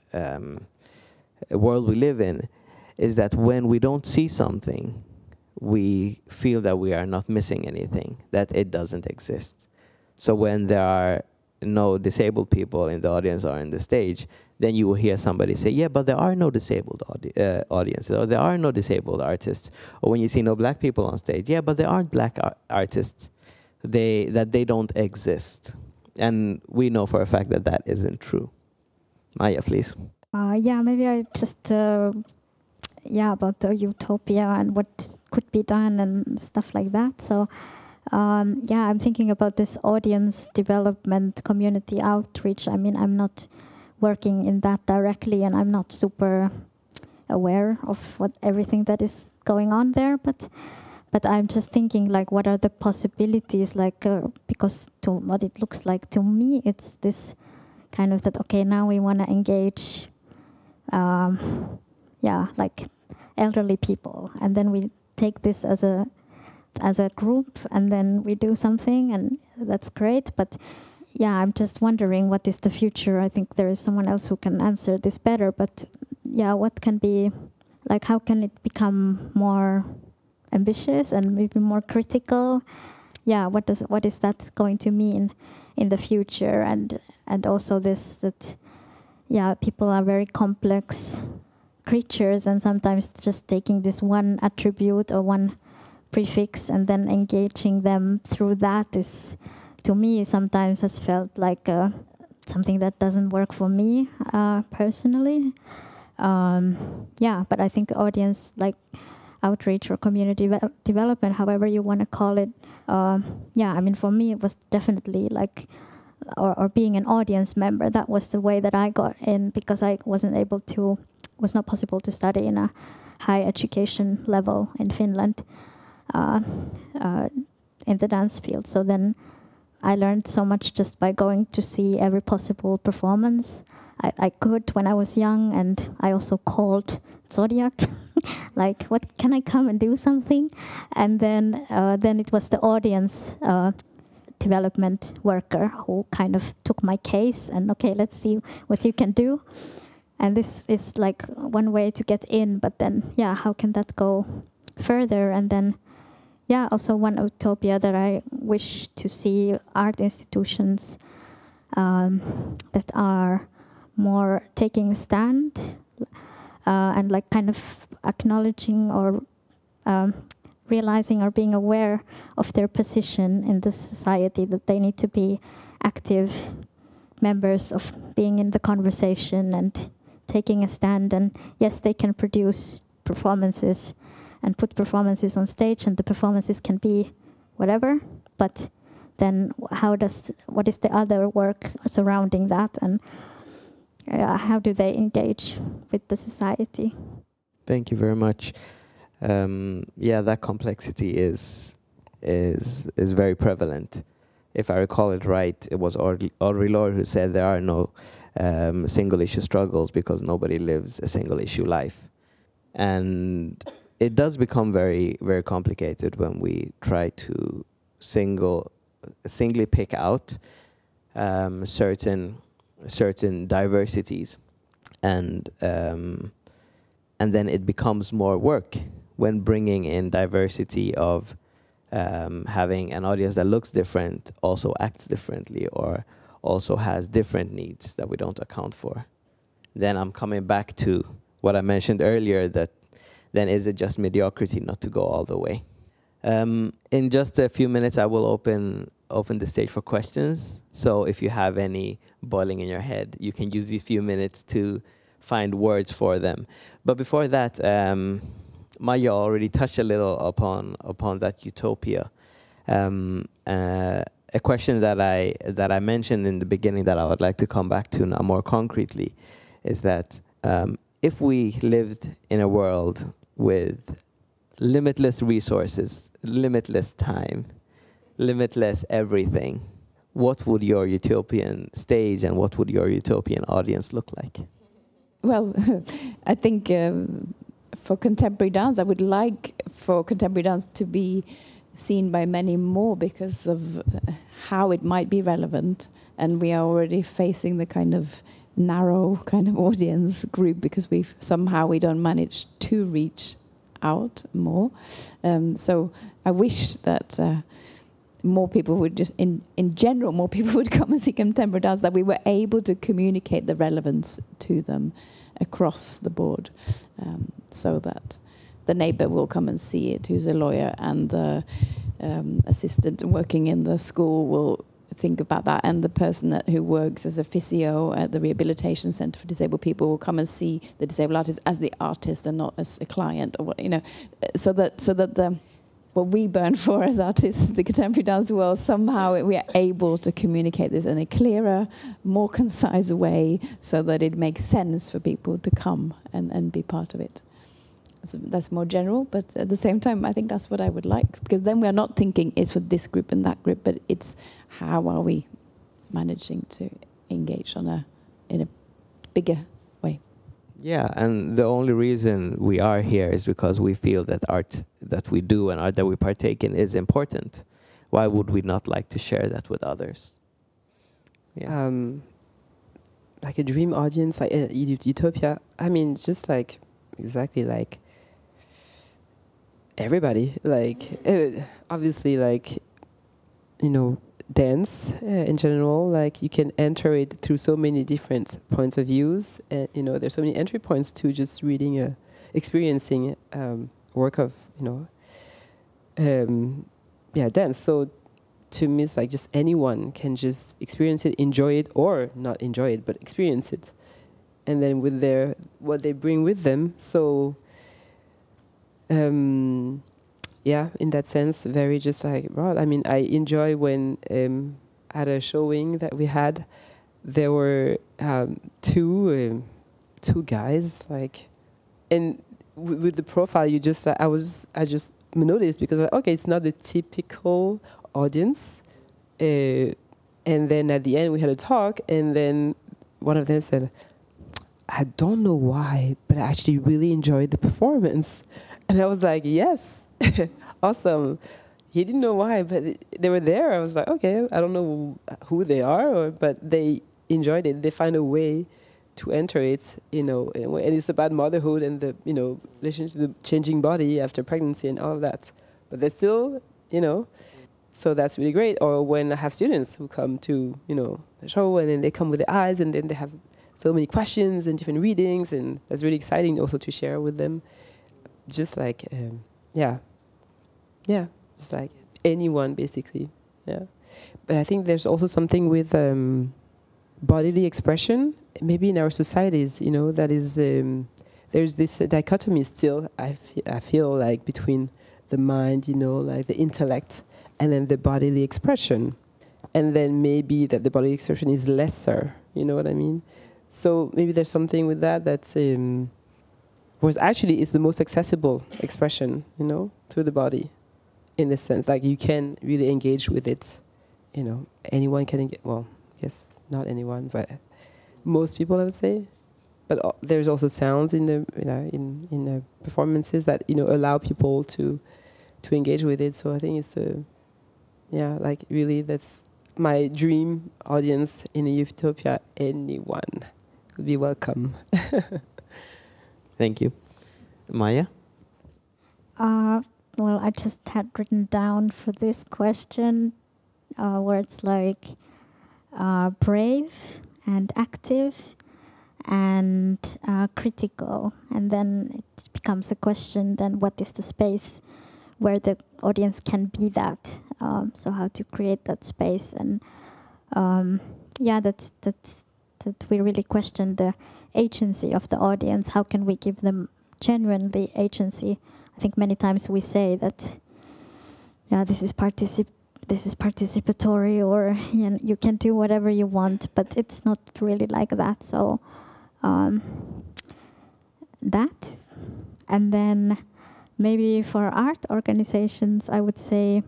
world we live in is that when we don't see something, we feel that we are not missing anything, that it doesn't exist. So when there are no disabled people in the audience or in the stage, then you will hear somebody say, yeah, but there are no disabled audiences, or there are no disabled artists. Or when you see no black people on stage, yeah, but there aren't black artists. That they don't exist. And we know for a fact that that isn't true. Maya, please. Yeah, maybe I just, about the utopia and what could be done and stuff like that. So, I'm thinking about this audience development, community outreach. I mean, I'm not working in that directly, and I'm not super aware of everything that is going on there, but I'm just thinking, like, what are the possibilities, like, because to what it looks like to me, it's this kind of that, okay, now we want to engage, like elderly people, and then we take this as a group, and then we do something, and that's great, but I'm just wondering what is the future. I think there is someone else who can answer this better, but what can be, like, how can it become more ambitious and maybe more critical? What is that going to mean in the future? And also this, that people are very complex creatures, and sometimes just taking this one attribute or one prefix and then engaging them through that is, to me, sometimes has felt like something that doesn't work for me personally. But I think audience, like, outreach or community development, however you want to call it, I mean, for me it was definitely like, or being an audience member, that was the way that I got in, because I was not possible to study in a high education level in Finland in the dance field. So then I learned so much just by going to see every possible performance I could when I was young, and I also called Zodiac, like, what, can I come and do something? And then it was the audience development worker who kind of took my case and, okay, let's see what you can do. And this is like one way to get in, but then, how can that go further? And then, yeah, also one utopia that I wish to see art institutions that are more taking a stand and like kind of acknowledging or realizing or being aware of their position in the society, that they need to be active members of being in the conversation and taking a stand. And yes, they can produce performances and put performances on stage, and the performances can be whatever, but then what is the other work surrounding that, and how do they engage with the society? Thank you very much. Yeah, that complexity is very prevalent. If I recall it right, it was Audre Lorde who said there are no single issue struggles because nobody lives a single issue life. And it does become very, very complicated when we try to singly pick out certain diversities, and then it becomes more work when bringing in diversity of having an audience that looks different, also acts differently, or also has different needs that we don't account for. Then I'm coming back to what I mentioned earlier, that then is it just mediocrity not to go all the way? In just a few minutes, I will open the stage for questions. So if you have any boiling in your head, you can use these few minutes to find words for them. But before that, Maja already touched a little upon that utopia. A question that I mentioned in the beginning that I would like to come back to now more concretely is that if we lived in a world with limitless resources, limitless time, limitless everything, what would your utopian stage and what would your utopian audience look like? Well, I think for contemporary dance, I would like for contemporary dance to be seen by many more because of how it might be relevant, and we are already facing the kind of narrow kind of audience group because we don't manage to reach out more. So I wish that more people would just, in general, more people would come and see contemporary dance, that we were able to communicate the relevance to them across the board, so that the neighbor will come and see it, who's a lawyer, and the assistant working in the school will think about that, and the person who works as a physio at the rehabilitation center for disabled people will come and see the disabled artist as the artist and not as a client, or what, so that what we burn for as artists in the contemporary dance world, somehow we are able to communicate this in a clearer, more concise way, so that it makes sense for people to come and be part of it. So that's more general, but at the same time, I think that's what I would like, because then we are not thinking it's for this group and that group, but it's how are we managing to engage in a bigger way. Yeah, and the only reason we are here is because we feel that art that we do and art that we partake in is important. Why would we not like to share that with others? Yeah. Like a dream audience, like utopia. I mean, just like exactly like everybody. Like obviously, like dance in general. Like you can enter it through so many different points of views, and there's so many entry points to just reading, experiencing work of dance. So to me, it's like just anyone can just experience it, enjoy it, or not enjoy it, but experience it. And then with what they bring with them. So, in that sense, very just like broad. I mean, I enjoy when at a showing that we had, there were two guys, like, and with the profile, I just noticed, because okay, it's not the typical audience, and then at the end we had a talk, and then one of them said, I don't know why, but I actually really enjoyed the performance. And I was like, yes, awesome. He didn't know why, but they were there. I was like, okay, I don't know who they are, but they enjoyed it. They find a way to enter it, and it's about motherhood and the, relationship to the changing body after pregnancy and all of that. but they're still, so that's really great. Or when I have students who come to, the show, and then they come with their eyes, and then they have so many questions and different readings, and that's really exciting also to share with them. Just like, just like anyone basically, yeah. But I think there's also something with bodily expression, maybe in our societies, that is, there's this dichotomy still, I feel like, between the mind, like the intellect, and then the bodily expression. And then maybe that the bodily expression is lesser, you know what I mean? So maybe there's something with that was actually is the most accessible expression, through the body, in this sense. Like you can really engage with it, anyone can engage. Well, yes, not anyone, but most people, I would say. But there's also sounds in the in the performances that allow people to engage with it. So I think it's like really that's my dream audience in a Utopia. Anyone would be welcome. Thank you. Maya? Well, I just had written down for this question words like brave and active and critical. And then it becomes a question, then what is the space where the audience can be that? So how to create that space. And that we really question the agency of the audience. How can we give them genuinely agency? I think many times we say that, this is participatory, or you can do whatever you want, but it's not really like that. So that, and then maybe for art organizations, I would say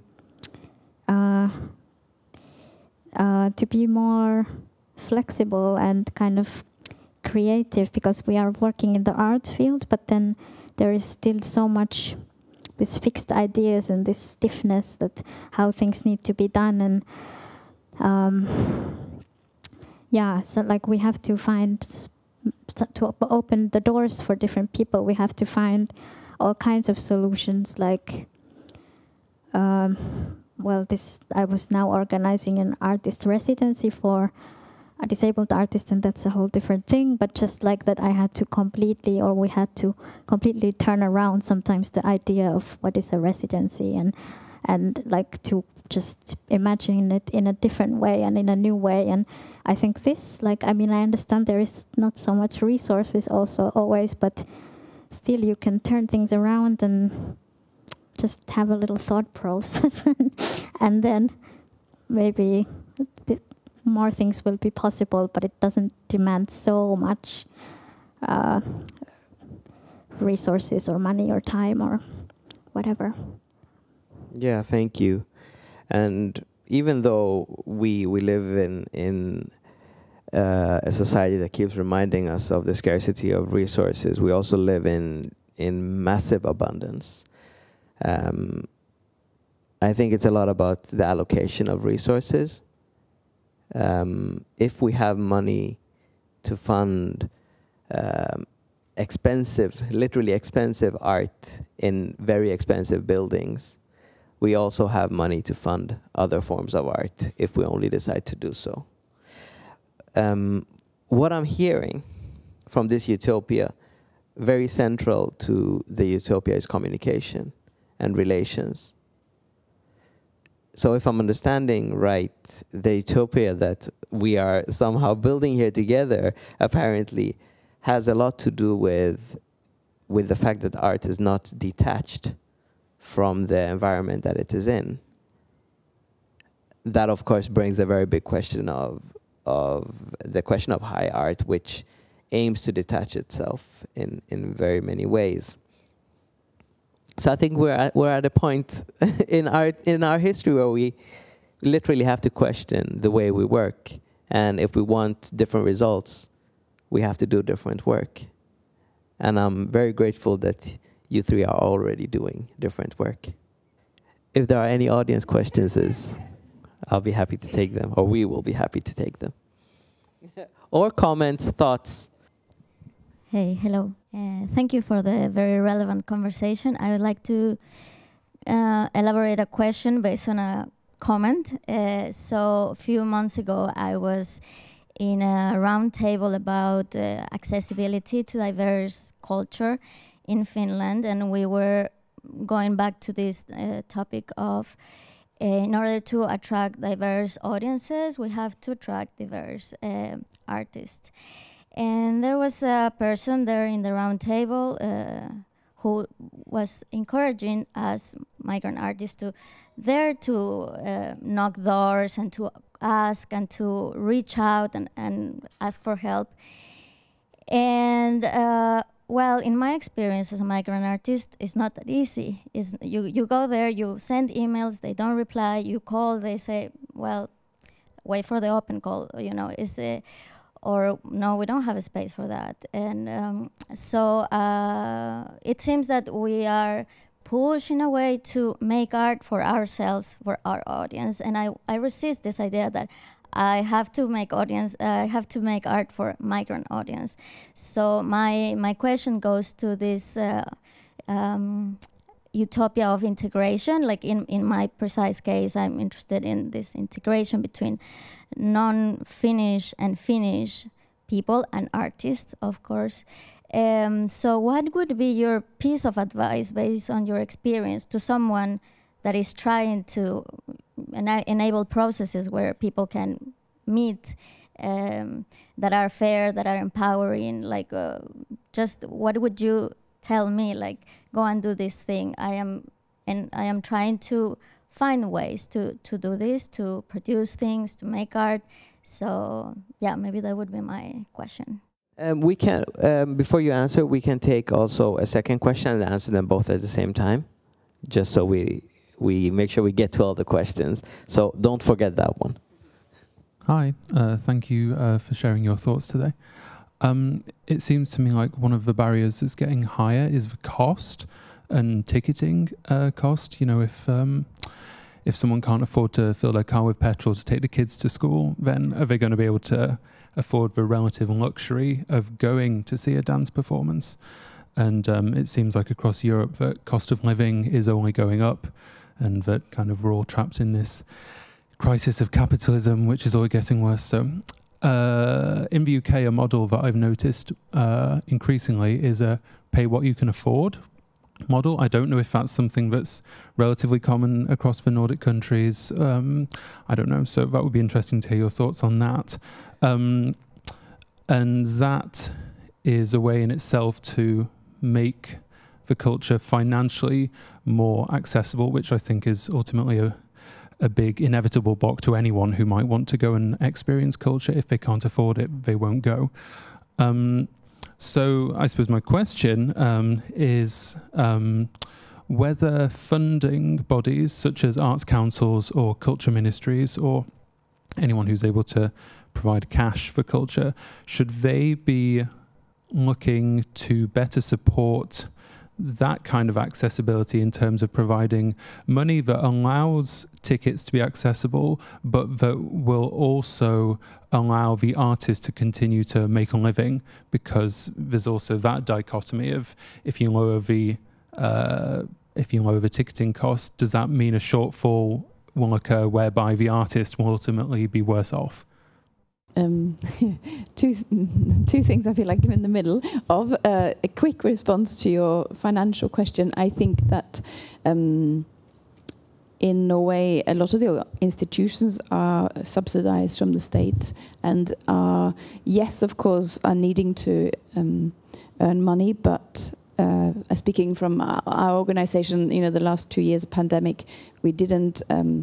to be more flexible and kind of creative, because we are working in the art field, but then there is still so much this fixed ideas and this stiffness that how things need to be done. And so like we have to find, to open the doors for different people, we have to find all kinds of solutions. Like, I was now organizing an artist residency for a disabled artist, and that's a whole different thing. But just like that, we had to completely turn around sometimes the idea of what is a residency, and like to just imagine it in a different way and in a new way. And I think this, I understand there is not so much resources also always, but still you can turn things around and just have a little thought process, and then maybe more things will be possible, but it doesn't demand so much resources or money or time or whatever. Yeah, thank you. And even though we live in a society that keeps reminding us of the scarcity of resources, we also live in massive abundance. I think it's a lot about the allocation of resources. If we have money to fund literally expensive art in very expensive buildings, we also have money to fund other forms of art if we only decide to do so. What I'm hearing from this utopia, very central to the utopia, is communication and relations. So if I'm understanding right, the utopia that we are somehow building here together apparently has a lot to do with the fact that art is not detached from the environment that it is in. That, of course, brings a very big question of the question of high art, which aims to detach itself in very many ways. So I think we're at a point in our history where we literally have to question the way we work, and if we want different results, we have to do different work. And I'm very grateful that you three are already doing different work. If there are any audience questions, I'll be happy to take them, or we will be happy to take them. Or comments, thoughts. Hey, hello. Thank you for the very relevant conversation. I would like to elaborate a question based on a comment. So a few months ago, I was in a round table about accessibility to diverse culture in Finland, and we were going back to this topic of in order to attract diverse audiences, we have to attract diverse artists. And there was a person there in the round table who was encouraging us migrant artists to knock doors and to ask and to reach out and ask for help. And well, in my experience as a migrant artist, it's not that easy. You go there, you send emails, they don't reply, you call, they say, well, wait for the open call, you know, or no, we don't have a space for that. And so it seems that we are pushed in a way to make art for ourselves, for our audience. And I resist this idea that I have to make art for migrant audience. So my question goes to this utopia of integration. Like in my precise case, I'm interested in this integration between non-Finnish and Finnish people and artists, of course. So what would be your piece of advice based on your experience to someone that is trying to enable processes where people can meet, that are fair, that are empowering? Like, just what would you tell me? Like, go and do this thing. I am trying to find ways to do this, to produce things, to make art. So yeah, maybe that would be my question. We can, before you answer, we can take also a second question and answer them both at the same time, just so we make sure we get to all the questions. So don't forget that one. Hi, thank you for sharing your thoughts today. It seems to me like one of the barriers that's getting higher is the cost and ticketing cost. You know, if someone can't afford to fill their car with petrol to take the kids to school, then are they going to be able to afford the relative luxury of going to see a dance performance? And it seems like across Europe that cost of living is only going up, and that kind of we're all trapped in this crisis of capitalism, which is only getting worse. So in the UK, a model that I've noticed increasingly is a pay what you can afford model. I don't know if that's something that's relatively common across the Nordic countries. I don't know. So that would be interesting to hear your thoughts on that. And that is a way in itself to make the culture financially more accessible, which I think is ultimately a big inevitable block to anyone who might want to go and experience culture. If they can't afford it, they won't go. So I suppose my question is whether funding bodies such as arts councils or culture ministries or anyone who's able to provide cash for culture, should they be looking to better support that kind of accessibility in terms of providing money that allows tickets to be accessible, but that will also allow the artist to continue to make a living? Because there's also that dichotomy of if you lower the ticketing cost, does that mean a shortfall will occur whereby the artist will ultimately be worse off? Two things I feel like I'm in the middle of. A quick response to your financial question. I think that in Norway, a lot of the institutions are subsidized from the state and are, yes, of course, are needing to earn money, but speaking from our organization, you know, the last 2 years of pandemic, we didn't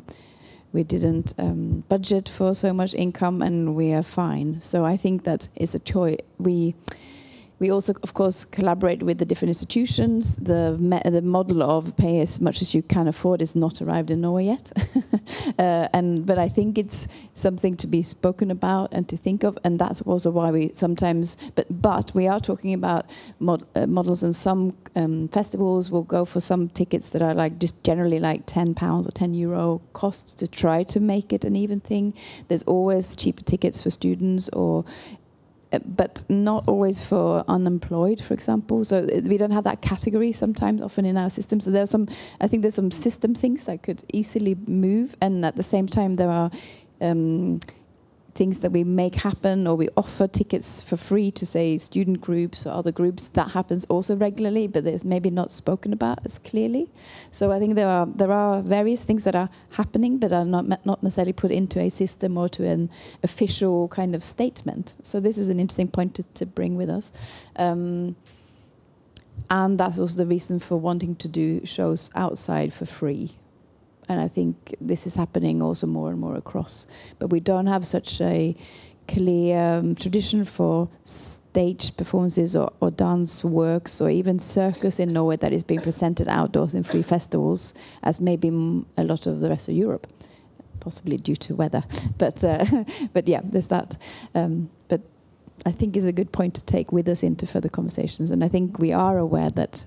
budget for so much income, and we are fine. So I think that is a choice. We also, of course, collaborate with the different institutions. The model of pay as much as you can afford is not arrived in Norway yet. But I think it's something to be spoken about and to think of, and that's also why we sometimes. But we are talking about models, and some festivals will go for some tickets that are like just generally like £10 or €10 costs to try to make it an even thing. There's always cheaper tickets for students or but not always for unemployed, for example. So we don't have that category sometimes, often in our system. So I think there's some system things that could easily move, and at the same time there are things that we make happen, or we offer tickets for free to, say, student groups or other groups. That happens also regularly, but it's maybe not spoken about as clearly. So I think there are various things that are happening, but are not necessarily put into a system or to an official kind of statement. So this is an interesting point to bring with us. And that's also the reason for wanting to do shows outside for free. And I think this is happening also more and more across. But we don't have such a clear tradition for stage performances or dance works or even circus in Norway that is being presented outdoors in free festivals, as maybe a lot of the rest of Europe, possibly due to weather. But yeah, there's that. But I think is a good point to take with us into further conversations. And I think we are aware that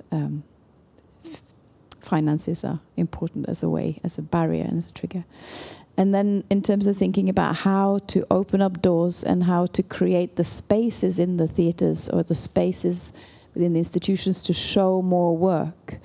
finances are important as a barrier and as a trigger. And then in terms of thinking about how to open up doors and how to create the spaces in the theatres or the spaces within the institutions to show more work,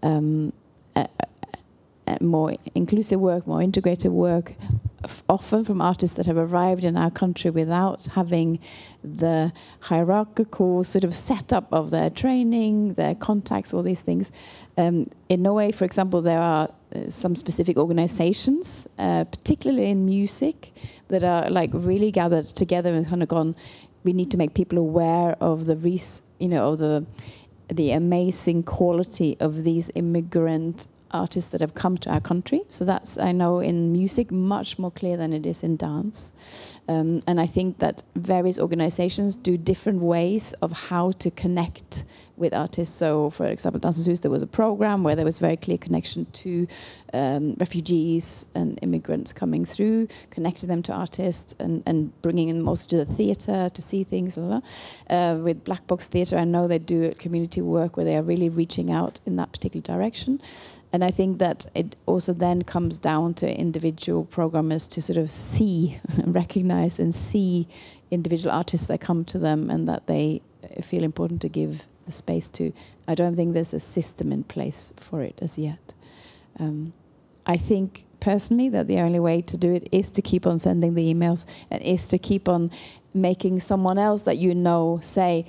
more inclusive work, more integrated work, often from artists that have arrived in our country without having the hierarchical sort of setup of their training, their contacts, all these things. In Norway, for example, there are some specific organizations, particularly in music, that are like really gathered together and kind of gone, we need to make people aware of the amazing quality of these immigrant artists that have come to our country. So that's, I know, in music much more clear than it is in dance. And I think that various organizations do different ways of how to connect with artists. So, for example, Dansens Hus, there was a program where there was very clear connection to refugees and immigrants coming through, connecting them to artists and bringing them also to the theatre to see things. Blah, blah. With Black Box Theatre, I know they do community work where they are really reaching out in that particular direction. And I think that it also then comes down to individual programmers to sort of see, recognize and see individual artists that come to them and that they feel important to give the space to. I don't think there's a system in place for it as yet. I think personally that the only way to do it is to keep on sending the emails and is to keep on making someone else that you know say,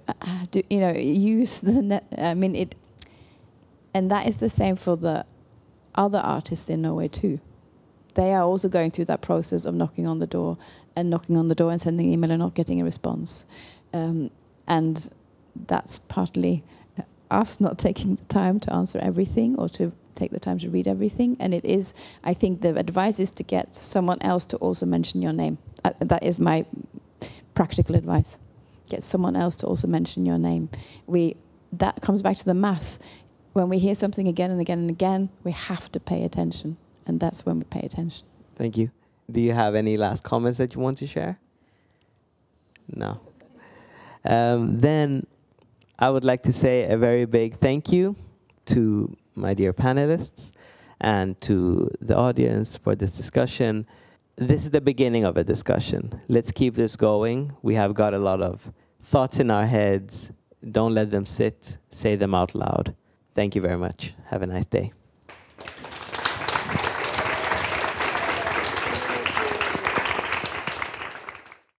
use the net. I mean, it. And that is the same for the other artists in Norway too. They are also going through that process of knocking on the door and sending an email and not getting a response. And that's partly us not taking the time to answer everything or to take the time to read everything. And it is, I think the advice is to get someone else to also mention your name. That is my practical advice. Get someone else to also mention your name. That comes back to the mass. When we hear something again and again and again, we have to pay attention. And that's when we pay attention. Thank you. Do you have any last comments that you want to share? No. Then I would like to say a very big thank you to my dear panelists and to the audience for this discussion. This is the beginning of a discussion. Let's keep this going. We have got a lot of thoughts in our heads. Don't let them sit. Say them out loud. Thank you very much. Have a nice day.